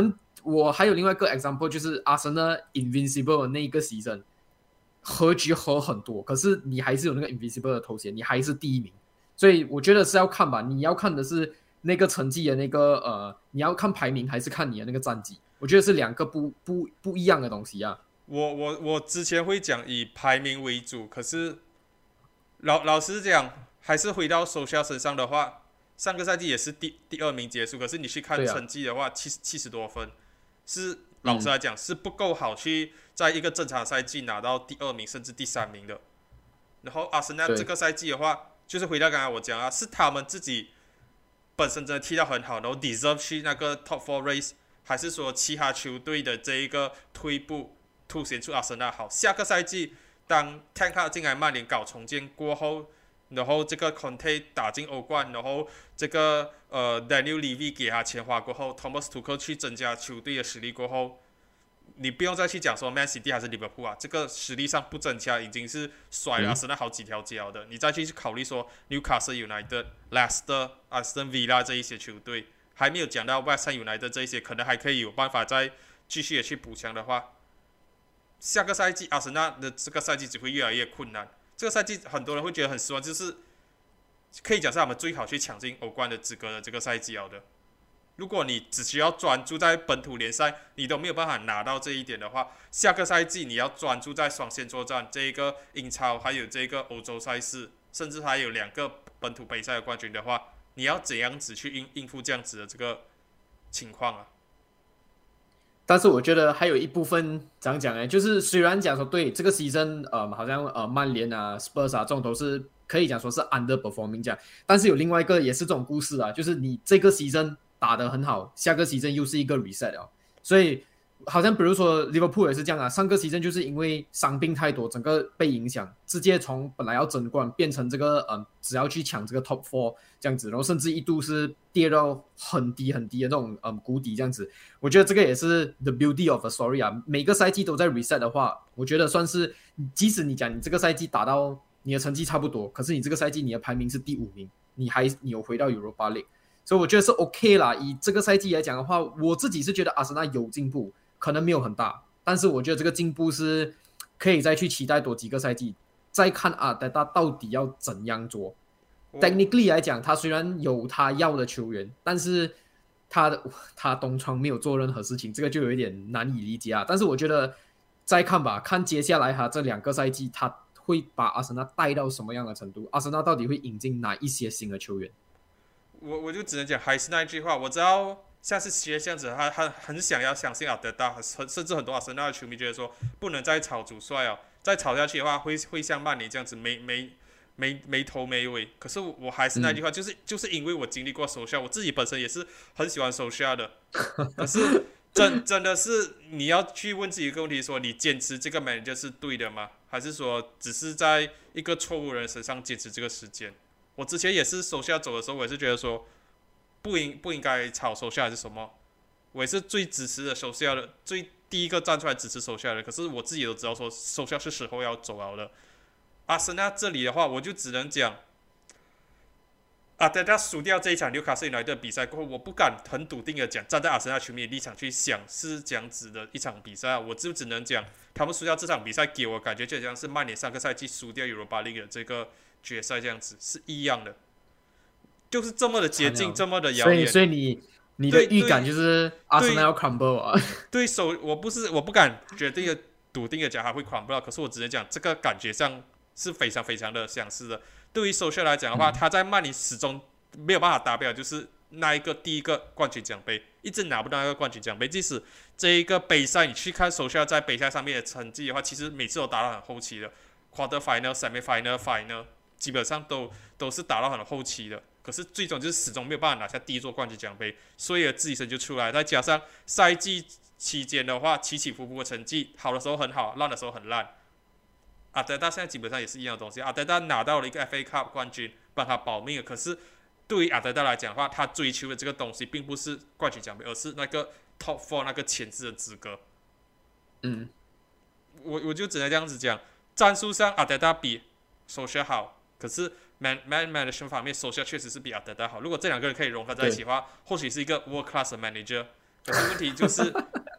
我还有另外一个 example， 就是阿森纳 Invincible 的那一个 season， 和局和很多，可是你还是有那个 Invincible 的头衔，你还是第一名。所以我觉得是要看吧，你要看的是那个成绩的那个呃，你要看排名还是看你的那个战绩？我觉得是两个不不不一样的东西啊。 我我我之前会讲以排名为主，可是老老实讲，还是回到手下身上的话，上个赛季也是第第二名结束，可是你去看成绩的话，七十七十多分，是老实来讲、嗯、是不够好去在一个正常赛季拿到第二名甚至第三名的。然后阿森纳这个赛季的话，就是回到刚才我讲啊，是他们自己本身真的踢到很好，然后 deserve 去那个 top four race， 还是说其他球队的这一个退步凸显出阿森纳好？下个赛季当 Tank 进来曼联搞重建过后，然后这个 Conte 打进欧冠，然后这个呃 Daniel Levy 给他钱花过后 ，Thomas Tuchel 去增加球队的实力过后，你不用再去讲说 Man City 还是 Liverpool 啊，这个实力上不增加已经是甩了阿森纳好几条脚的。嗯、你再去考虑说 Newcastle United、Leicester、Aston Villa 这一些球队，还没有讲到 West Ham United 这一些，可能还可以有办法再继续的去补强的话，下个赛季阿森纳的这个赛季只会越来越困难。这个赛季很多人会觉得很失望，就是可以讲是他们最好去抢进欧冠的资格的这个赛季了的。如果你只需要专注在本土联赛，你都没有办法拿到这一点的话，下个赛季你要专注在双线作战，这一个英超还有这个欧洲赛事，甚至还有两个本土杯赛的冠军的话，你要怎样子去应应付这样子的这个情况啊？ 但是我觉得还有一部分怎样讲呢？就是虽然讲说对这个 season， 呃，好像呃曼联啊、Spurs 啊这种都是可以讲说是 underperforming 这样，但是有另外一个也是这种故事啊，就是你这个 season 打得很好，下个 season 又是一个 reset 啊，所以好像比如说 Liverpool 也是这样啊，上个 season 就是因为伤病太多，整个被影响，直接从本来要争冠变成这个嗯，只要去抢这个 top four 这样子，然后甚至一度是跌到很低很低的那种嗯谷底这样子。我觉得这个也是 the beauty of a story 啊，每个赛季都在 reset 的话，我觉得算是，即使你讲你这个赛季打到你的成绩差不多，可是你这个赛季你的排名是第五名，你还你有回到 Europa League， 所以我觉得是 OK 啦。以这个赛季来讲的话，我自己是觉得阿森纳有进步。可能没有很大，但是我觉得这个进步是可以再去期待多几个赛季，再看阿德达到底要怎样做。Technically 来讲，他虽然有他要的球员，但是他他东窗没有做任何事情，这个就有一点难以理解啊。但是我觉得再看吧，看接下来他这两个赛季他会把阿森纳带到什么样的程度，阿森纳到底会引进哪一些新的球员。 我我就只能讲还是那一句话，我知道。像是学这样子，他他很想要相信阿德达，甚至很多阿森纳的球迷觉得说，不能再炒主帅哦，再炒下去的话会会像曼联这样子没没没没头没尾。可是我还是那句话，嗯、就是就是因为我经历过手下，我自己本身也是很喜欢手下的。可是真真的是你要去问自己一个问题说，你坚持这个 manager 是对的吗？还是说只是在一个错误人身上坚持这个时间？我之前也是手下走的时候，我也是觉得说。不应不应该炒手下还是什么？我也是最支持的手下的，最第一个站出来支持手下的。可是我自己都知道说，手下是时候要走了的。阿森纳这里的话，我就只能讲，阿德达输掉这一场纽卡斯联的比赛过后，我不敢很笃定的讲，站在阿森纳球迷的立场去想是这样子的一场比赛，我就只能讲，他们输掉这场比赛，给我感觉就像是曼联上个赛季输掉 Europa League 的这个决赛这样子，是一样的。就是这么的接近，这么的遥远， 所以所以你你的预感就是阿森纳要 crumble 啊？ 对手，我不是我不敢决定的笃定的讲他会 crumble， 可是我只能讲这个感觉上是非常非常的相似的。对于首秀来讲的话，嗯、他在曼联始终没有办法达标，就是那一个第一个冠军奖杯，一直拿不到那个冠军奖杯。即使这一个杯赛，你去看首秀在杯赛上面的成绩的话，其实每次都打到很后期的 ，quarter final、semi final、final， 基本上都都是打到很后期的。可是最终就是始终没有办法拿下第一座冠军奖杯，所以自己身就出来。再加上赛季期间的话，起起伏伏的成绩，好的时候很好，烂的时候很烂。阿德达现在基本上也是一样的东西。阿德达拿到了一个 F A Cup 冠军，帮他保命了。可是对于阿德达来讲的话，他追求的这个东西并不是冠军奖杯，而是那个 Top Four 那个前置的资格。 嗯， 我我就只能这样子讲，战术上阿德达比首选好，可是。Man man management 方面，手下确实是比阿德达好。如果这两个人可以融合在一起的话，或许是一个 world class 的 manager。可是问题就是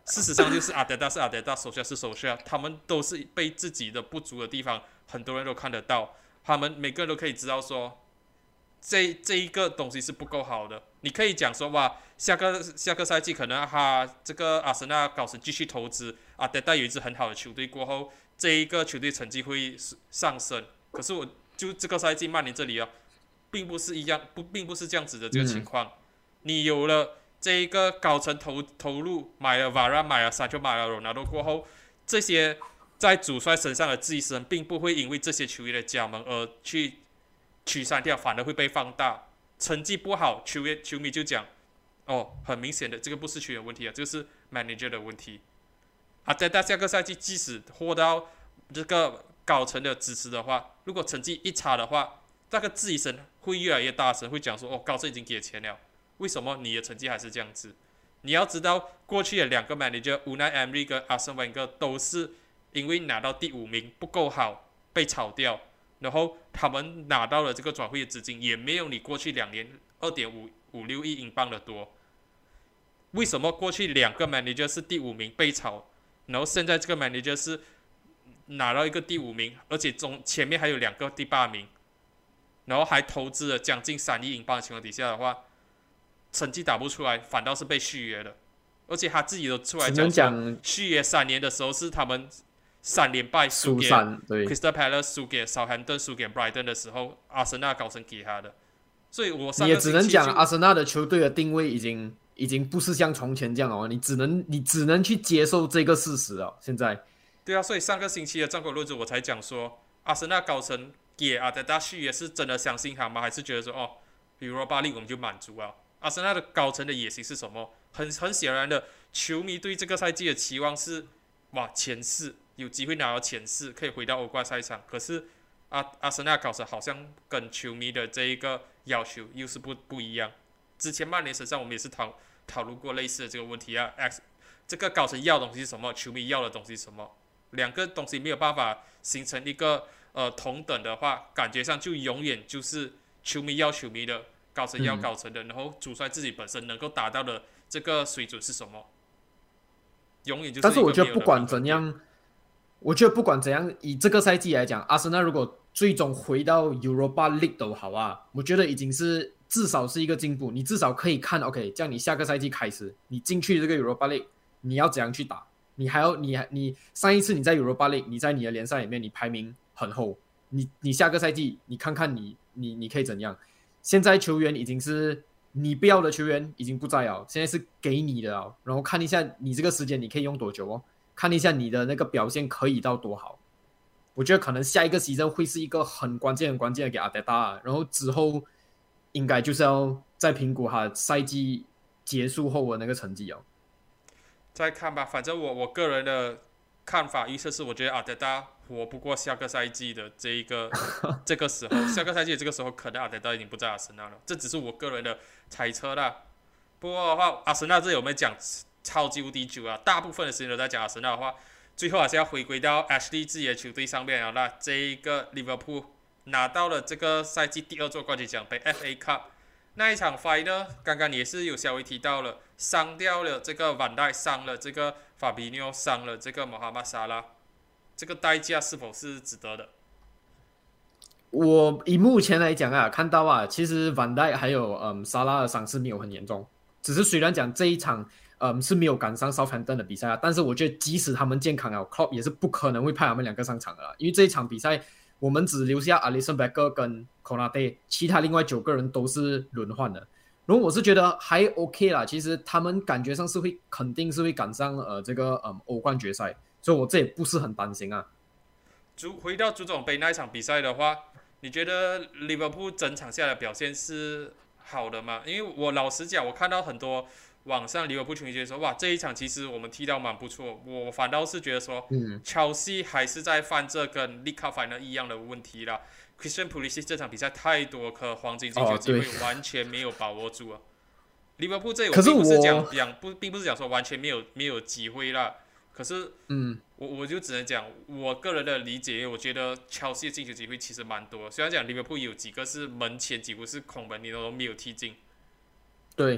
事实上就是阿德达是阿德达，手下是手下，他们都是被自己的不足的地方，很多人都看得到，他们每个人都可以知道说，这这一个东西是不够好的。你可以讲说哇，下个下个赛季可能他这个阿森纳高层继续投资，阿德达有一支很好的球队过后，这一个球队成绩会上升。可是我就这个赛季曼联这里啊，并不是一样，不并不是这样子的这个情况。嗯、你有了这一个高层投投入，买了瓦拉，买了桑乔，买了罗纳多过后，这些在主帅身上的寄生，并不会因为这些球员的加盟而去取删掉，反而会被放大。成绩不好，球员球迷就讲，哦，很明显的，这个不是球员问题啊，这个是 manager 的问题。啊，在大下个赛季，即使获到这个高层的支持的话，如果成绩一差的话，那个质疑声会越来越大声，会讲说，哦，高层已经给钱了，为什么你的成绩还是这样子？你要知道，过去的两个 manager Unai Emery 跟 Arsene Wenger 都是因为拿到第五名不够好被炒掉。然后他们拿到了这个转会的资金，也没有你过去两年二点五五六亿英镑的多。为什么过去两个 manager 是第五名被炒，然后现在这个 manager 是拿到一个第五名，而且中前面还有两个第八名，然后还投资了将近三亿英镑的情况底下的话，成绩打不出来，反倒是被续约了。而且他自己都出来讲说，续约三年的时候是他们三连败输给 Crystal Palace， 输给 Southampton， 输给 Brighton 的时候，阿森纳高层给他的。所以我上个你也只能讲阿森纳的球队的定位已经已经不是像从前这样了，你只能你只能去接受这个事实了。现在， 对啊，所以上个星期的战果论著我才讲说，阿森纳高层给阿德达续约是真的相信他吗？还是觉得说哦，比如巴黎我们就满足了？阿森纳的高层的野心是什么？很很显然的，球迷对这个赛季的期望是哇前四。有机会拿到前四，可以回到欧冠赛场。可是阿阿森纳高层好像跟球迷的这一个要求又是不不一样。之前曼联身上我们也是讨讨论过类似的这个问题啊。X 这个高层要的东西是什么？球迷要的东西是什么？两个东西没有办法形成一个呃同等的话，感觉上就永远就是球迷要球迷的，高层要高层的，嗯、然后主帅自己本身能够达到的这个水准是什么？永远就是一个没有的。 但是我觉得不管怎样。我觉得不管怎样，以这个赛季来讲，阿森纳如果最终回到 Europa League 都好啊，我觉得已经是至少是一个进步。你至少可以看 ，OK， 这样你下个赛季开始，你进去这个 Europa League， 你要怎样去打？你还要你你上一次你在 Europa League， 你在你的联赛里面你排名很后，你你下个赛季你看看你你你可以怎样？现在球员已经是你不要的球员已经不在了，现在是给你的了，然后看一下你这个时间你可以用多久哦。看一下你的那个表现可以到多好，我觉得可能下一个赛季会是一个很关键、很关键的给阿德达，然后之后应该就是要再评估他赛季结束后的那个成绩哦。 再看吧，反正我我个人的看法预测是，我觉得阿德达活不过下个赛季的这一个这个时候，下个赛季的这个时候可能阿德达已经不在阿森纳了，这只是我个人的猜测啦。不过的话，阿森纳这有没有讲？超级无敌久啊！大部分的时间都在讲阿森纳的话，最后还是要回归到 Ashley 自己的球队上面了啦。这一个 Liverpool 拿到了这个赛季第二座冠军奖杯 F A Cup 那一场 final， 刚刚也是有稍微提到了，伤掉了这个van Dijk，伤了这个 Fabinho， 伤了这个 Mohamed Salah， 这个代价是否是值得的？ 我以目前来讲啊，看到啊，其实 van Dijk 还有嗯 Salah 的伤势没有很严重，只是虽然讲这一场。嗯，是没有赶上 Southampton 的比赛啊，但是我觉得即使他们健康了 ，Klopp 也是不可能会派他们两个上场的啦，因为这一场比赛我们只留下 Alisson Becker 跟 Konate， 其他另外九个人都是轮换的。然后我是觉得还 OK 啦，其实他们感觉上是会肯定是会赶上呃这个嗯欧冠决赛，所以我这也不是很担心啊。 足回到足总杯那一场比赛的话，你觉得利物浦整场下来表现是好的吗？因为我老实讲，我看到很多。网上利物浦球迷觉得说，哇，这一场其实我们踢到蛮不错。我反倒是觉得说，嗯，Chelsea 还是在犯这跟 League Cup Final 一样的问题啦。Christian Pulisic 这场比赛太多颗黄金进球机会，完全没有把握住啊。利物浦这我并不是讲讲不，并不是讲说完全没有没有机会啦。可是，嗯，我我就只能讲我个人的理解，我觉得 Chelsea 的进球机会其实蛮多。虽然讲利物浦有几个是门前几乎是空门，你都没有踢进。 对。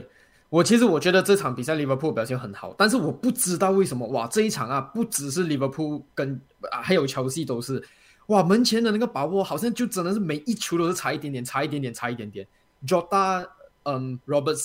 我其实我觉得这场比赛利物浦表现很好，但是我不知道为什么哇，这一场啊，不只是利物浦跟啊还有切西都是哇，门前的那个把握好像就真的是每一球都是差一点点，差一点点，差一点点。Jota，嗯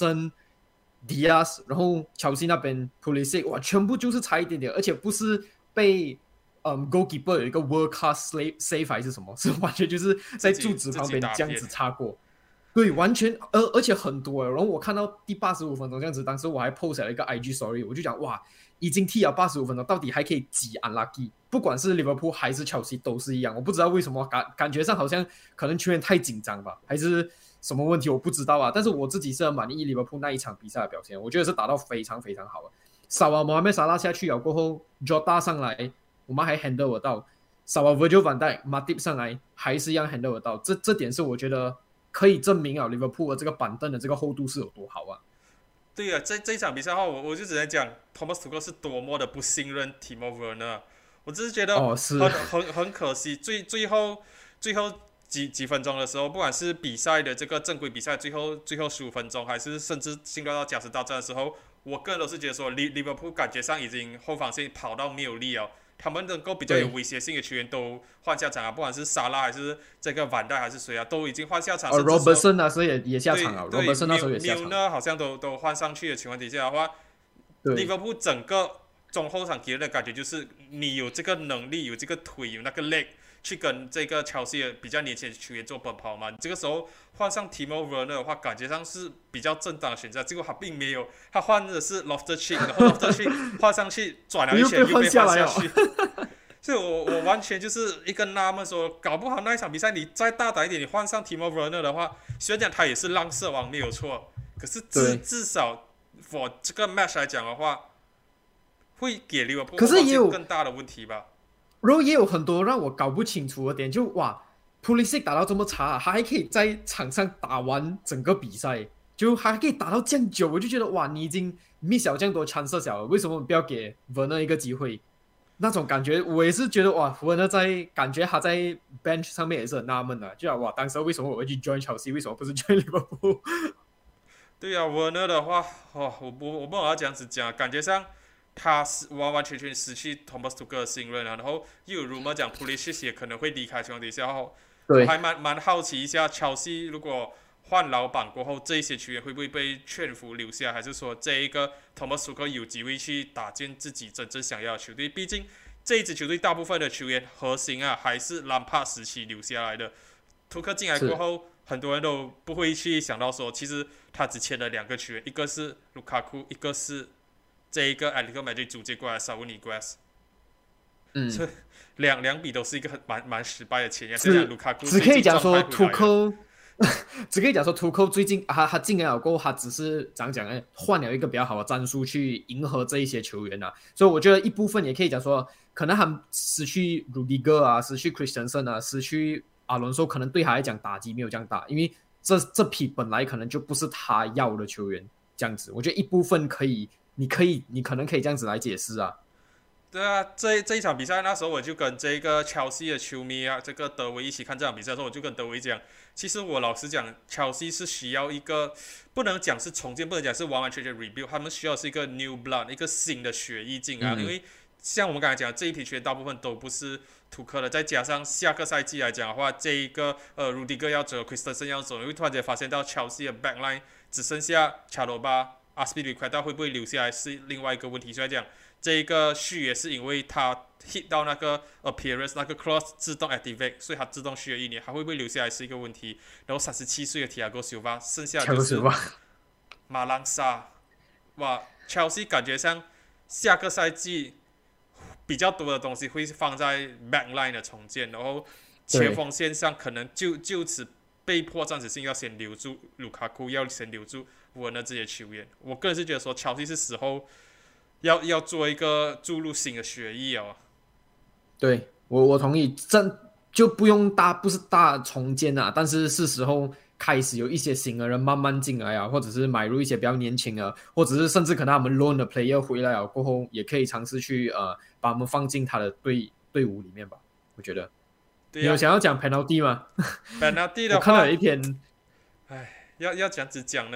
，Robertson、Diaz，然后切西那边 Pulisic， 哇，全部就是差一点点，而且不是被嗯 goalkeeper 有一个 world class save 还是什么，是完全就是在柱子旁边这样子擦过。对，完全，而而且很多，然后我看到第八十五分钟这样子，当时我还 post 了一个 I G story， 我就讲哇，已经踢了八十五分钟，到底还可以几 unlucky？ 不管是利物浦还是切西都是一样，我不知道为什么感感觉上好像可能球员太紧张吧，还是什么问题我不知道啊。但是我自己是很满意利物浦那一场比赛的表现，我觉得是打到非常非常好的。萨瓦莫哈梅萨拉下去了过后 ，Jota 上来，我们还 handle 得到，萨瓦 Virgil van Dijk、Matip 上来还是一样 handle 得到，这这点是我觉得。可以证明啊，利物浦的这个板凳的这个厚度是有多好啊！ 对啊，这这一场比赛的话，我我就只能讲，Thomas Tuchel 是多么的不信任 Timo Werner。我只是觉得很、哦、很很可惜，最最后最后几几分钟的时候，不管是比赛的这个正规比赛最后最后十五分钟，还是甚至进入到加时大战的时候，我个人都是觉得说，利利物浦感觉上已经后防线跑到没有力了。他们能够比较有威胁性的球员都换下场啊，不管是沙拉还是这个万代还是谁啊，都已经换下场。 哦 ，Robertson 那时候也也下场了 ，Robertson 那时候也下场。 Milner 好像都都换上去的情况底下的话，利物浦整个中后场给人的感觉就是你有这个能力，有这个腿，有那个 leg 去跟这个切西的比较年轻的球员做奔跑嘛。这个时候换上 Timo Werner 的话，感觉上是比较正当的选择。结果他并没有，他换的是 Loftus-Cheek， 然后 Loftus-Cheek 换上去转了一圈又被换下去。所以我我完全就是一个纳闷，说搞不好那一场比赛你再大胆一点，你换上 Timo Werner 的话，虽然讲他也是浪射王没有错，可是至至少 for 这个 match 来讲的话，会给利物浦更大的问题吧。 然后也有很多让我搞不清楚的点，就哇 ，Pulisic 打到这么差、啊，他还可以在场上打完整个比赛，就还可以打到这样久，我就觉得哇，你已经 miss 了这样多 chance 了，为什么不要给 Werner 一个机会？那种感觉，我也是觉得哇，Werner 在感觉他在 bench 上面也是很纳闷的，就啊哇，当时为什么我会去 join Chelsea， 为什么不是 join 利物浦？ 对啊 ，Werner 的话，哦，我我我不好这样子讲，感觉上。他是完完全全失去 Thomas Tuchel 的信任，然后又有 rumor 讲 Pulisic 也可能会离开情况底下后，我还蛮蛮好奇一下，切西如果换老板过后，这一些球员会不会被劝服留下，还是说这一个 Thomas Tuchel 有机会去打进自己真正想要的球队？毕竟这一支球队大部分的球员核心啊，还是兰帕时期留下来的。图克进来过后，很多人都不会去想到说，其实他只签了两个球员，一个是卢卡库，一个是。这一个 Atletico Madrid 租借过来 Saúl Ñíguez， 嗯，这两两笔都是一个很蛮蛮失败的签约。只卢卡库只可以讲说图克，只可以讲说图克最近他他进来了过后，他只是怎样讲呢？换了一个比较好的战术去迎合这一些球员啊。所以我觉得一部分也可以讲说，可能他失去 Rudiger 啊，失去 Christensen 啊，失去阿伦索，可能对他来讲打击没有这样大，因为这这批本来可能就不是他要的球员，这样子。我觉得一部分可以。你可以，你可能可以这样子来解释啊。 对啊，这这一场比赛那时候我就跟这个切西的球迷啊，这个德维一起看这场比赛的时候，我就跟德维讲，其实我老实讲，切西是需要一个不能讲是重建，不能讲是完完全全 rebuild， 他们需要是一个 new blood， 一个新的血液进来、嗯，因为像我们刚才讲的这一批球员大部分都不是图克的，再加上下个赛季来讲的话，这一个呃 Rudiger 要走 ，Christensen 要走，你会突然间发现到切西的 backline 只剩下查罗巴。阿斯皮里奎达会不会留下来是另外一个问题，所以讲这一个续约是因为他 hit 到那个 appearance 那个 cross 自动 activate， 所以他自动续约一年，还会不会留下来是一个问题。然后三十七岁的 Thiago Silva， 剩下的就是马朗萨，哇 ，Chelsea 感觉上下个赛季比较多的东西会放在 backline 的重建，然后前锋线上可能就就此被迫暂时性要先留住卢卡库，要先留住。我呢这些球员，我个人是觉得说，切西是时候要要做一个注入新的血液哦。 对我我同意，这就不用大不是大重建啊，但是是时候开始有一些新的人慢慢进来啊，或者是买入一些比较年轻的，或者是甚至可能他们 loan 的 player 回来了过后，也可以尝试去呃把他们放进他的队队伍里面吧。我觉得， 对啊、 你有想要讲 penalty 吗 ？penalty 的话， 我看到有一篇， 哎，要要讲只讲呢。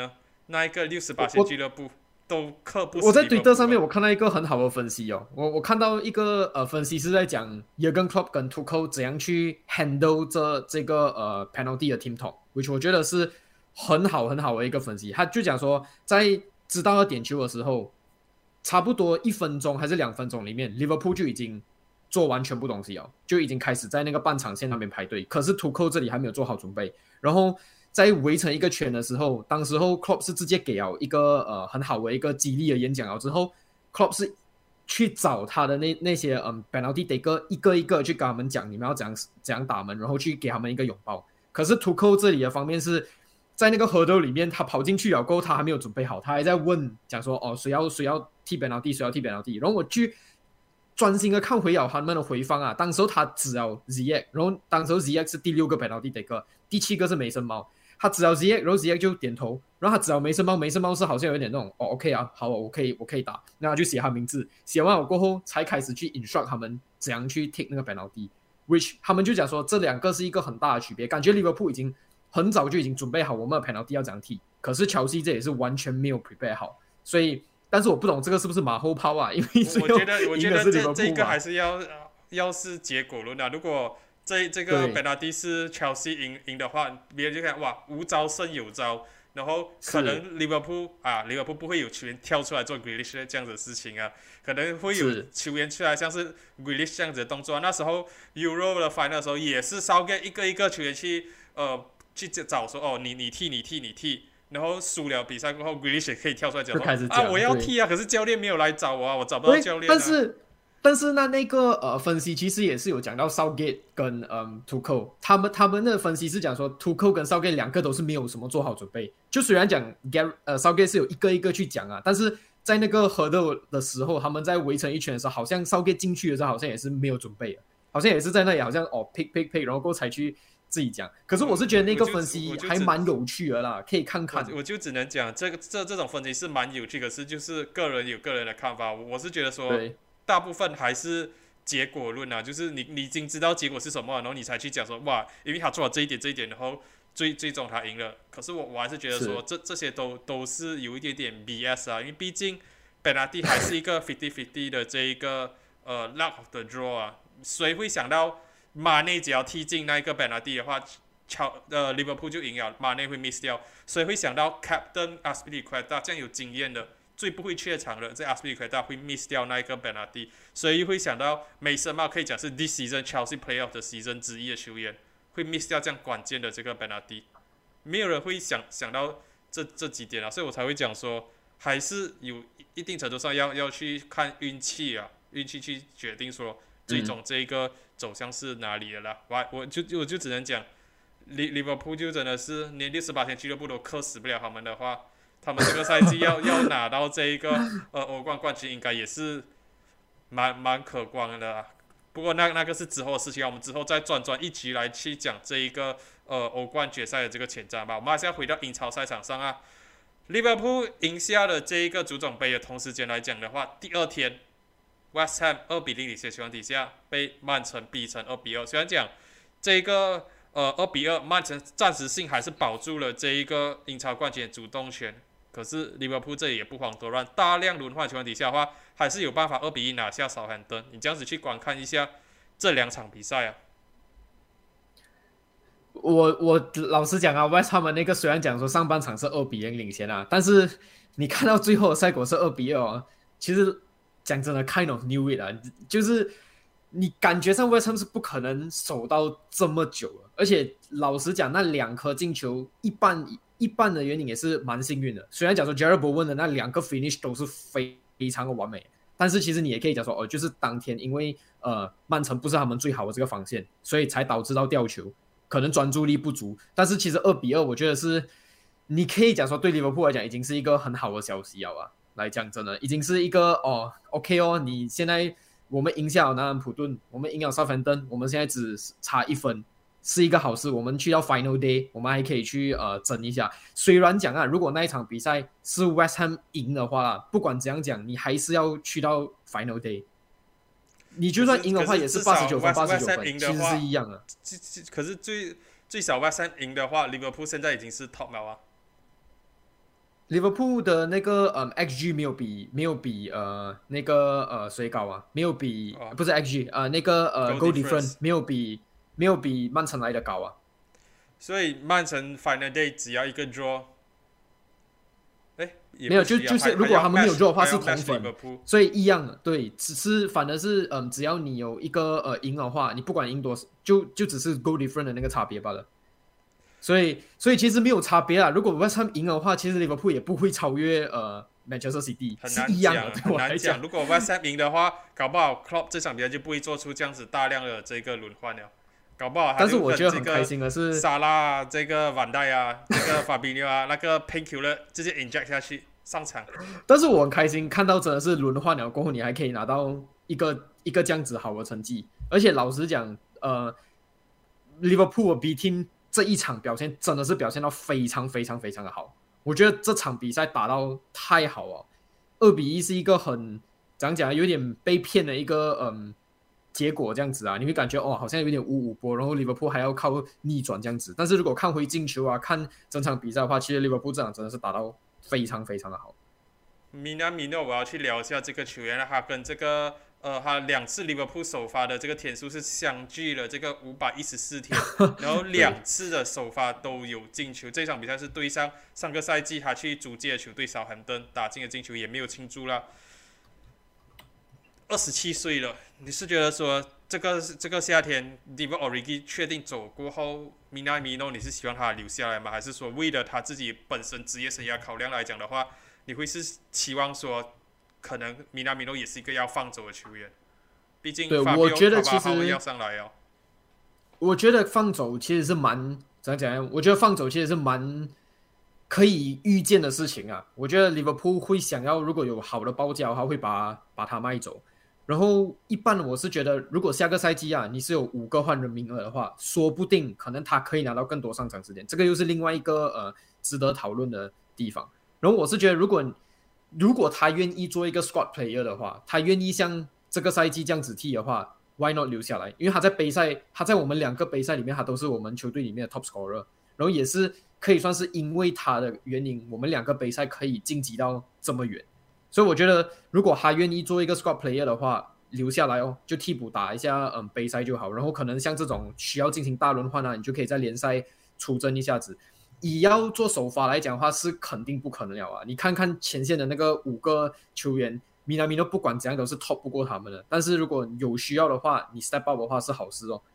那一个六十八线俱乐部都克不死。 我在推特上面我看到一个很好的分析哦，我我看到一个呃分析是在讲 Jurgen Klopp 跟 Tuchel 怎样去 handle 这这个呃 penalty 的 team talk，which 我觉得是很好很好的一个分析。他就讲说，在知道要点球的时候，差不多一分钟还是两分钟里面 ，Liverpool 就已经做完全部东西了，就已经开始在那个半场线那边排队。可是 Tuchel 这里还没有做好准备，然后在围成一个圈的时候，当时候 Klopp 是直接给了一个呃很好的一个激励的演讲了之后 ，Klopp 是去找他的那那些嗯 penalty taker 一个一个去跟他们讲你们要怎样怎样打门，然后去给他们一个拥抱。可是 Tuchel 这里的方面是在那个河斗里面，他跑进去了过后，他还没有准备好，他还在问讲说哦谁要谁要踢 penalty 谁要踢 penalty， 然后我去专心的看回了他们的回放啊，当时候他指了 Ziyech， 然后当时候 Ziyech 是第六个 penalty taker， 第七个是梅森猫。他指了 Ziyech， 然后 Ziyech 就点头，然后他指了梅森猫，梅森猫是好像有点那种哦 OK 啊，好，我可以我可以打，那他就写他名字，写完了过后才开始去 instruct 他们怎样去 take 那个 penalty，which 他们就讲说这两个是一个很大的区别，感觉 Liverpool 已经很早就已经准备好我们的 penalty 要怎样踢，可是乔西这也是完全没有 prepare 好，所以但是我不懂这个是不是马后炮啊，因为我觉得我觉得这这个还是要要是结果论啊，如果这这个 penalty 是 Chelsea 赢赢的话，别人就看哇无招胜有招，然后可能 Liverpool 啊 Liverpool 不会有球员跳出来做 Grealish 这样子的事情啊，可能会有球员出来像是 Grealish 这样子的动作、啊。那时候 Euro 的 final 的时候也是 Southgate 一个一个球员去呃去找说哦你你踢你踢你踢，然后输了比赛过后 Grealish 也可以跳出来讲说啊我要踢啊，可是教练没有来找我啊，我找不到教练、啊。 但是但是那那个呃分析其实也是有讲到 Southgate 跟嗯 Tuchel， 他们他们的分析是讲说 Tuchel 跟 Southgate 两个都是没有什么做好准备。就虽然讲 Gary 呃 Southgate 是有一个一个去讲啊，但是在那个河斗的时候，他们在围成一圈的时候，好像 Southgate 进去的时候好像也是没有准备的，好像也是在那里好像哦 pick pick pick， 然后过后才去自己讲。可是我是觉得那个分析还蛮有趣的啦，可以看看。 我, 我就只能讲这个这这种分析是蛮有趣，可是就是个人有个人的看法。我是觉得说。大部分还是结果论啊，就是你你已经知道结果是什么，然后你才去讲说哇，因为他做了这一点这一点，然后最最终他赢了。可是我我还是觉得说这这些都都是有一点点 B S 啊，因为毕竟 penalty 还是一个 fifty fifty 的这一个呃 luck of the draw 啊，谁会想到马内只要踢进那一个 penalty 的话，乔呃 Liverpool 就赢了，马内会 miss 掉，谁会想到 Captain Azpilicueta 这样有经验的？最不会怯场的，在 Azpilicueta 会 miss 掉那一个 penalty， 所以会想到梅森帽可以讲是 this season Chelsea playoff 的 season 之一的球员，会 miss 掉这样关键的这个 penalty， 没有人会想想到这这几点啊，所以我才会讲说，还是有一定程度上要要去看运气啊，运气去决定说最终这一个走向是哪里的啦。我我就我就只能讲，Liverpool 就真的是连六十八天俱乐部都克死不了他们的话。他们这个赛季要要拿到这一个呃欧冠冠军，应该也是蛮蛮可观的、啊。不过那那个是之后的事情，我们之后再专专一集来去讲这一个呃欧冠决赛的这个前瞻吧。我们还是要回到英超赛场上啊。利物浦赢下了这一个足总杯的同时间来讲的话，第二天 West Ham 二比零领先情况底下，被曼城逼成二比二。虽然讲这一个呃二比二，曼城暂时性还是保住了这一个英超冠军的主动权。可是利物浦这里也不遑多让，大量轮换情况底下的话，还是有办法二比一拿下少汉顿。你这样子去观看一下这两场比赛啊。 我我老实讲啊 ，West Ham 那个虽然讲说上半场是二比零领先啊，但是你看到最后的赛果是二比二、哦，其实讲真的 ，kind of knew it 啊，就是你感觉上 West Ham 是不可能守到这么久了，而且老实讲，那两颗进球一半。一半的原因也是蛮幸运的，虽然讲说 Jarrod Bowen 的那两个 finish 都是非常的完美，但是其实你也可以讲说哦，就是当天因为呃曼城不是他们最好的这个防线，所以才导致到掉球，可能专注力不足。但是其实二比二，我觉得是你可以讲说对利物浦来讲已经是一个很好的消息了啊。来讲真的，已经是一个哦 OK 哦，你现在我们赢下了南安普顿，我们赢了Southampton，我们现在只差一分。是一个好事，我们去到 Final Day， 我们还可以去呃争一下。虽然讲啊，如果那一场比赛是 West Ham 赢的话，不管怎样讲，你还是要去到 Final Day。你就算赢的话，也是八十九分，八十九分，其实是一样的。 可是最最少 West Ham 赢的话，利物浦现在已经是 top 了啊。 Liverpool 的那个嗯 X G 没有比没有比呃那个呃谁高啊？没有比、 哦不是 X G 呃那个呃 ，goal goal difference difference。 没有比没有比曼城来的高啊。 所以曼城 final day 只要一个 draw，哎，也没有，就不需要， 就是如还还要果他们没有 match， 做的话还要是同 match 分， Liverpool。 所以一样的，对，只是反而是嗯，只要你有一个呃赢的话，你不管赢多少，就就只是 goal difference 的那个差别罢了。所以所以其实没有差别啦。如果 West Ham 赢的话，其实 Liverpool 也不会超越呃 Manchester City， 很是一样的， 难讲， 对很难讲。 我来讲。 如果 West Ham 赢的话，搞不好 Klopp 这场比赛就不会做出这样子大量的这个轮换了，搞不好他但是就我觉得很开跟这个心的是， 沙拉啊、这个万代啊、这个法比纽啊、那个 Painkiller 直接 inject 下去上场。 但是我很开心看到真的是轮换了过后，你还可以拿到一个一个这样子好的成绩。而且老实讲，呃，Liverpool 比 team 这一场表现真的是表现到非常非常非常的好。我觉得这场比赛打到太好了，二比一是一个很讲讲有点被骗的一个嗯结果这样子啊，你会感觉哦好像有点五五波，然后 Liverpool 还要靠逆转这样子。但是如果看回进球啊，看整场比赛的话，其实 Liverpool 这场真的是打到非常非常的好。 米纳米诺，我要去聊一下这个球员，他跟这个呃，他两次利物浦首发的这个天数是相距了这个五百一十四天，然后两次的首发都有进球。这场比赛是对上上个赛季他去租借的球队少罕顿打进的进球，也没有庆祝了。二十七岁了，你是觉得说这个这个夏天 Divock Origi 确定走过后，米纳米诺你是希望他留下来吗？还是说为了他自己本身职业生涯考量来讲的话，你会是期望说，可能米纳米诺也是一个要放走的球员？毕竟对， 法比我觉得奥其实要上来哦。 我觉得放走其实是蛮怎样讲？我觉得放走其实是蛮可以预见的事情啊。我觉得利物浦会想要如果有好的报价的话，会把把他卖走。然后一般我是觉得，如果下个赛季啊，你是有五个换人名额的话，说不定可能他可以拿到更多上场时间，这个又是另外一个呃值得讨论的地方。然后我是觉得，如果如果他愿意做一个 squad player 的话，他愿意像这个赛季这样子踢的话 ，why not 留下来？因为他在杯赛，他在我们两个杯赛里面，他都是我们球队里面的 top scorer，然后也是可以算是因为他的原因，我们两个杯赛可以晋级到这么远。所以我觉得，如果他愿意做一个 squad player 的话，留下来哦，就替补打一下嗯杯赛就好。然后可能像这种需要进行大轮换啊，你就可以在联赛出征一下子。以要做首发来讲的话，是肯定不可能了啊！你看看前线的那个五个球员，米纳米诺不管怎样都是 top 不过他们的。但是如果有需要的话，你 step up 的话是好事哦。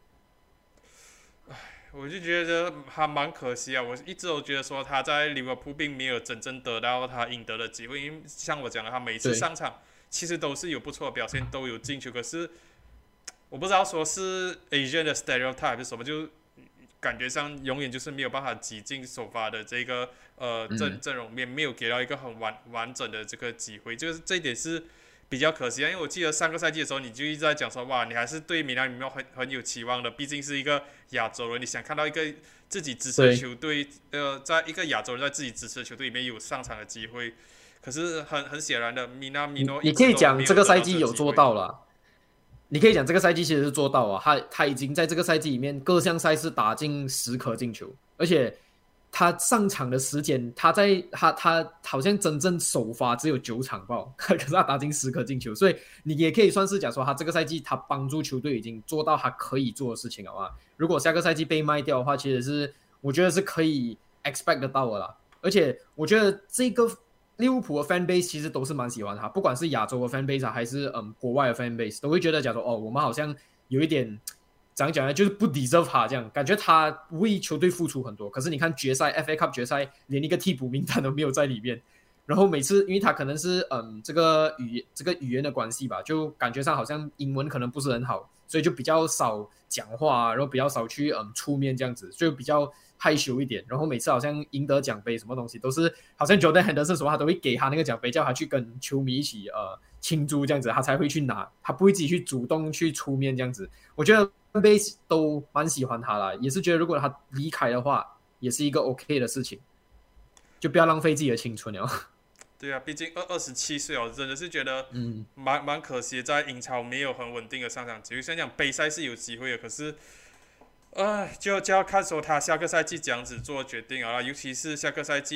我就觉得还蛮可惜啊！我一直都觉得说他在利物浦并没有真正得到他应得的机会，因为像我讲的，他每次上场其实都是有不错的表现，都有进球。可是我不知道说是 Asian 的 stereotype 还是什么，就感觉上永远就是没有办法挤进首发的这个呃阵阵容面，没有给到一个很完完整的这个机会，就是这一点是比较可惜啊。因为我记得上个赛季的时候，你就一直在讲说，哇，你还是对米兰米诺很很有期望的，毕竟是一个亚洲人，你想看到一个自己支持的球队，呃，在一个亚洲人在自己支持的球队里面有上场的机会。可是很很显然的，米纳米诺你可以讲这个赛季有做到了。你可以讲这个赛季其实是做到啊，他他已经在这个赛季里面各项赛事打进十颗进球，而且他上场的时间，他在他他好像真正首发只有九场吧，可是他打进十颗进球，所以你也可以算是讲说他这个赛季他帮助球队已经做到他可以做的事情了啊。如果下个赛季被卖掉的话，其实是我觉得是可以 expect 得到的啦，而且我觉得这个。利物浦的 fan base 其实都是蛮喜欢他，不管是亚洲的 fan base 啊，还是嗯国外的 fan base， 都会觉得讲说哦，我们好像有一点怎样讲呢，就是不 deserve 他这样，感觉他为球队付出很多，可是你看决赛 F A Cup 决赛连一个替补名单都没有在里面，然后每次因为他可能是嗯这个语这个语言的关系吧，就感觉上好像英文可能不是很好，所以就比较少讲话、啊，然后比较少去嗯出面这样子，就比较害羞一点，然后每次好像赢得奖杯什么东西都是好像 Jordan Henderson 什么他都会给他那个奖杯，叫他去跟球迷一起呃庆祝这样子，他才会去拿，他不会自己去主动去出面这样子。我觉得 base 都蛮喜欢他啦，也是觉得如果他离开的话，也是一个 OK 的事情，就不要浪费自己的青春了。 对啊，毕竟二二十七岁哦，真的是觉得嗯蛮蛮可惜，在英超没有很稳定的上场机会。虽然讲杯赛是有机会的，可是。呃，就就要看说他下个赛季怎样子做决定啊，尤其是下个赛季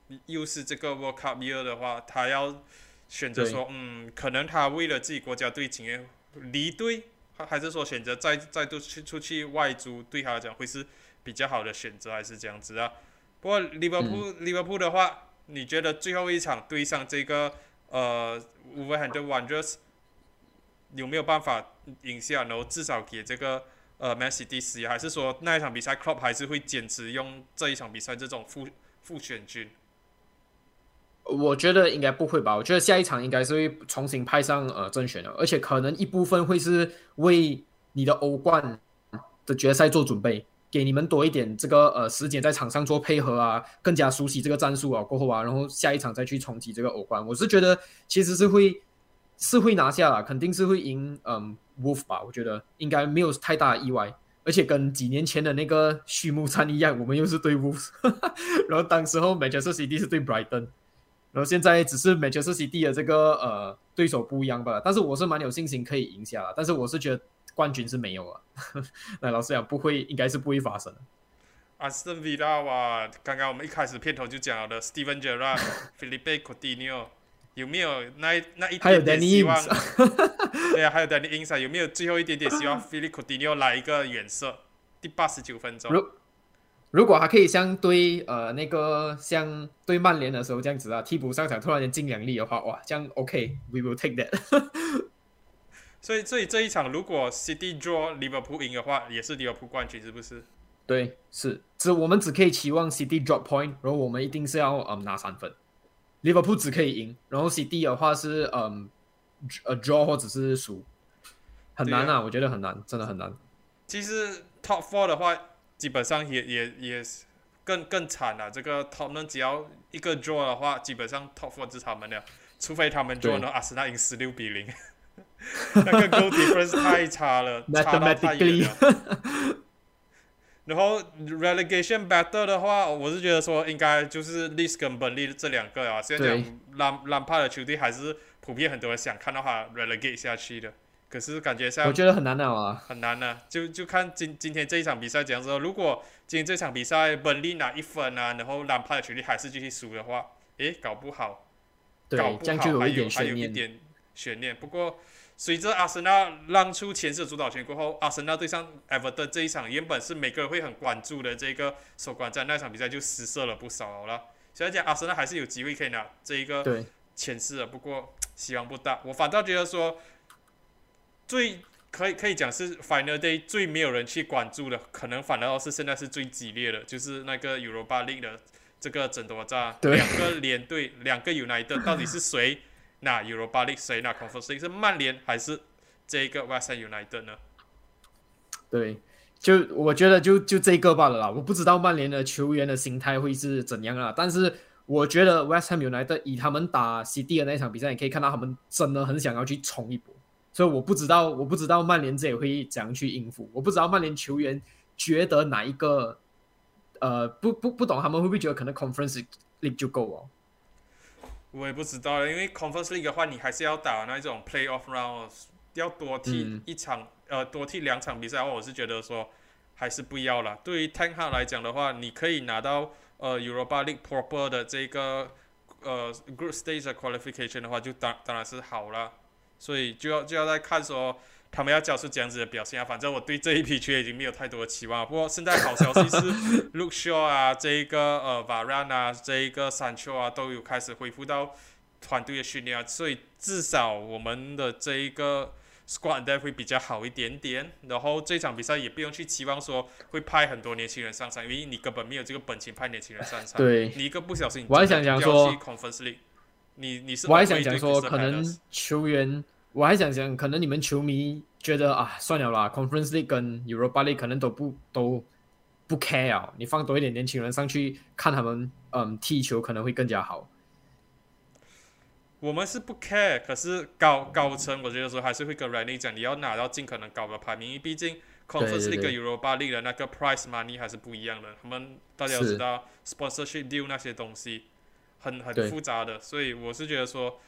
又是这个 World Cup year 的话，他要选择说，嗯，可能他为了自己国家队情愿离队，还是说选择再再度去出去外租，对他来讲会是比较好的选择，还是这样子啊？不过利物浦利物浦的话，你觉得最后一场对上这个呃 Wolverhampton Wanderers 有没有办法赢下，然后至少给这个呃 Man City 施压，还是说那一场比赛 Klopp 还是会坚持用这一场比赛这种复复选军？ 我觉得应该不会吧，我觉得下一场应该是会重新派上呃正选的，而且可能一部分会是为你的欧冠的决赛做准备，给你们多一点这个呃时间在场上做配合啊，更加熟悉这个战术啊，过后啊，然后下一场再去冲击这个欧冠。我是觉得其实是会是会拿下啦，肯定是会赢嗯 Wolf 吧，我觉得应该没有太大的意外。而且跟几年前的那个序幕战一样，我们又是对 Wolves， 然后当时候 Manchester City 是对 Brighton。然后现在只是 Manchester City 的这个呃对手不一样吧，但是我是蛮有信心可以赢下，但是我是觉得冠军是没有啊，那老实讲不会，应该是不会发生的。 阿斯顿维拉哇，刚刚我们一开始片头就讲了的 Steven Gerrard、Philippe Coutinho， 有没有那那一点点希望？对啊，还有 Danny Ings， 有没有最后一点点希望 Philippe Coutinho 来一个远射？第八十九分钟。 如果还可以像对呃那个像对曼联的时候这样子啊，替补上场突然间进两粒的话，哇，这样 OK，we will take that 所以所以这一场如果 City draw 利物浦赢的话，也是利物浦冠军，是不是？ 对，是，只我们只可以期望 City drop point，然后我们一定是要嗯拿三分，利物浦只可以赢，然后 City 的话是嗯呃 draw 或者是输，很难啊，啊我觉得很难，真的很难。 其实 Top Four 的话。基本上也也也更更惨了。这个 Tottenham 只要一个 draw 的话，基本上 Top Four 是他们的，除非他们 draw 呢，阿森纳赢十六比零，那个 goal difference 太差了，差到太远了。然后 relegation battle 的话，我是觉得说应该就是 Leeds 跟本利这两个啊。现在讲兰兰帕的球队还是普遍很多人想看到他 relegate 下去的。可是感觉上， 我觉得很难了啊， 很难啊，就就看今今天这一场比赛怎样说。如果今天这场比赛本利拿一分啊，然后兰帕的球队还是继续输的话，诶，搞不好， 对， 搞不好就有还有还有一点悬念。不过随着阿森纳让出前四主导权过后，阿森纳对上 Everton 这一场原本是每个人会很关注的这个首关战，那场比赛就失色了不少了。所以讲阿森纳还是有机会可以拿这一个前四的，不过希望不大。我反倒觉得说。最可以可以讲是 Final Day 最没有人去关注的，可能反而是现在是最激烈的，就是那个 Europa League 的这个争夺战，两个联队，两个 United 到底是谁拿 Europa League， 谁拿 Conference League， 是曼联还是这个 West Ham United 呢？ 对，就我觉得就就这个罢了啦，我不知道曼联的球员的心态会是怎样啊，但是我觉得 West Ham United 以他们打 City 的那场比赛，你可以看到他们真的很想要去冲一波。所以我不知道，我不知道曼联这也会怎样去应付。我不知道曼联球员觉得哪一个，呃，不不不懂他们会不会觉得可能 Conference League 就够哦？ 我也不知道了，因为 Conference League 的话，你还是要打那种 Playoff Round， 要多踢一场，嗯、呃，多踢两场比赛的话，我是觉得说还是不要了。对于 Ten Hag 来讲的话，你可以拿到呃 Europa League proper 的这个呃 Group Stage 的 Qualification 的话，就当当然是好了。所以就要就要再看说他们要交出这样子的表现啊。反正我对这一批球员已经没有太多的期望了。不过现在好消息是 Luke Shaw 啊，这一个呃 Varane 啊，这一个 Sancho 啊，都有开始恢复到团队的训练啊。所以至少我们的这一个 squad depth 会比较好一点点。然后这场比赛也不用去期望说会派很多年轻人上场，因为你根本没有这个本钱派年轻人上场。 对， 你一个不小心， 我还想讲说 Conference League。你你是我还想讲说，可能球员，我还想讲，可能你们球迷觉得啊，算了啦 ，Conference League 跟 Europa League 可能都不都不 care 啊，你放多一点年轻人上去看他们嗯踢球，可能会更加好。 我们是不 care， 可是高高层我觉得说还是会跟 Rani 讲，你要拿到尽可能高的排名，因为毕竟 Conference League 跟 Europa League 的那个 prize money 还是不一样的，他们大家都知道 sponsorship deal 那些东西。很很复杂的，所以我是觉得说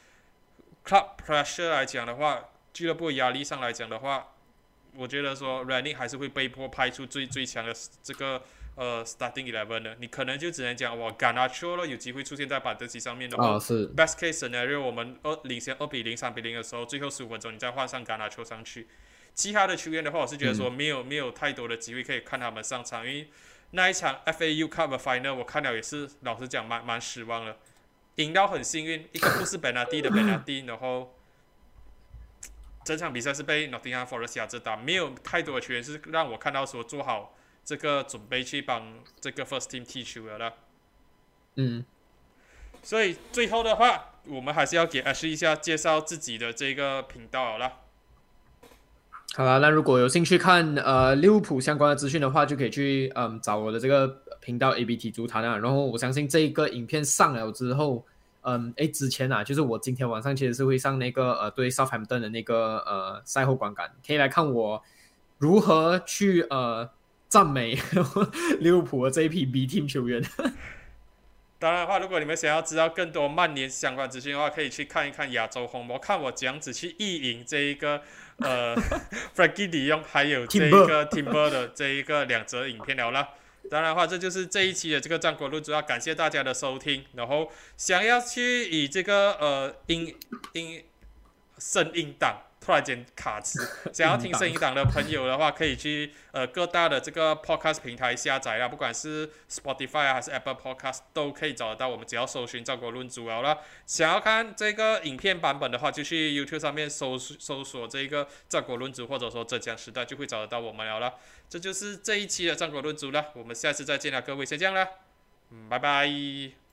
，club pressure 来讲的话，俱乐部压力上来讲的话，我觉得说 Rani 还是会被迫派出最最强的这个呃 starting eleven 的，你可能就只能讲哇 Garnacho 咯，有机会出现在板凳席上面的话、 啊是 best case scenario 我们二领先二比零、三比零的时候，最后十五分钟你再换上 Garnacho 上去。其他的球员的话，我是觉得说没有、嗯、没有太多的机会可以看他们上场，因为那一场 F A U Cup 的 Final 我看了也是老实讲蛮蛮失望的，赢到很幸运，一个不是 Benadi 的 Benadi， 然后整场比赛是被 Nottingham Forest 压制打，没有太多的球员是让我看到说做好这个准备去帮这个 First Team 踢球的了。 嗯， 所以最后的话，我们还是要给 Ashley 一下介绍自己的这个频道好了。 好啦，那如果有兴趣看呃利物浦相关的资讯的话，就可以去嗯找我的这个频道 A B T 足坛啊。然后我相信这一个影片上了之后，嗯，诶，之前啊，就是我今天晚上其实是会上那个呃对 Southampton 的那个呃赛后观感，可以来看我如何去呃赞美利物浦的这一批 B Team 球员。 当然的话，如果你们想要知道更多曼联相关资讯的话，可以去看一看亚洲红魔，看我怎样子去意淫这一个呃 Frankie de Jong 还有这一个 Timber 的这一个两则影片了啦。当然的话，这就是这一期的这个战国论，主要感谢大家的收听。然后想要去以这个呃音音声音档突然间卡词，想要听声音档的朋友的话，可以去呃各大的这个 podcast 平台下载啦，不管是 Spotify 啊还是 Apple Podcast 都可以找得到，我们只要搜寻战国论足了啦。想要看这个影片版本的话，就去 YouTube 上面搜搜索这个战国论足，或者说浙江时代，就会找得到我们了啦。这就是这一期的战国论足了，我们下次再见了，各位，先这样啦，嗯，拜拜。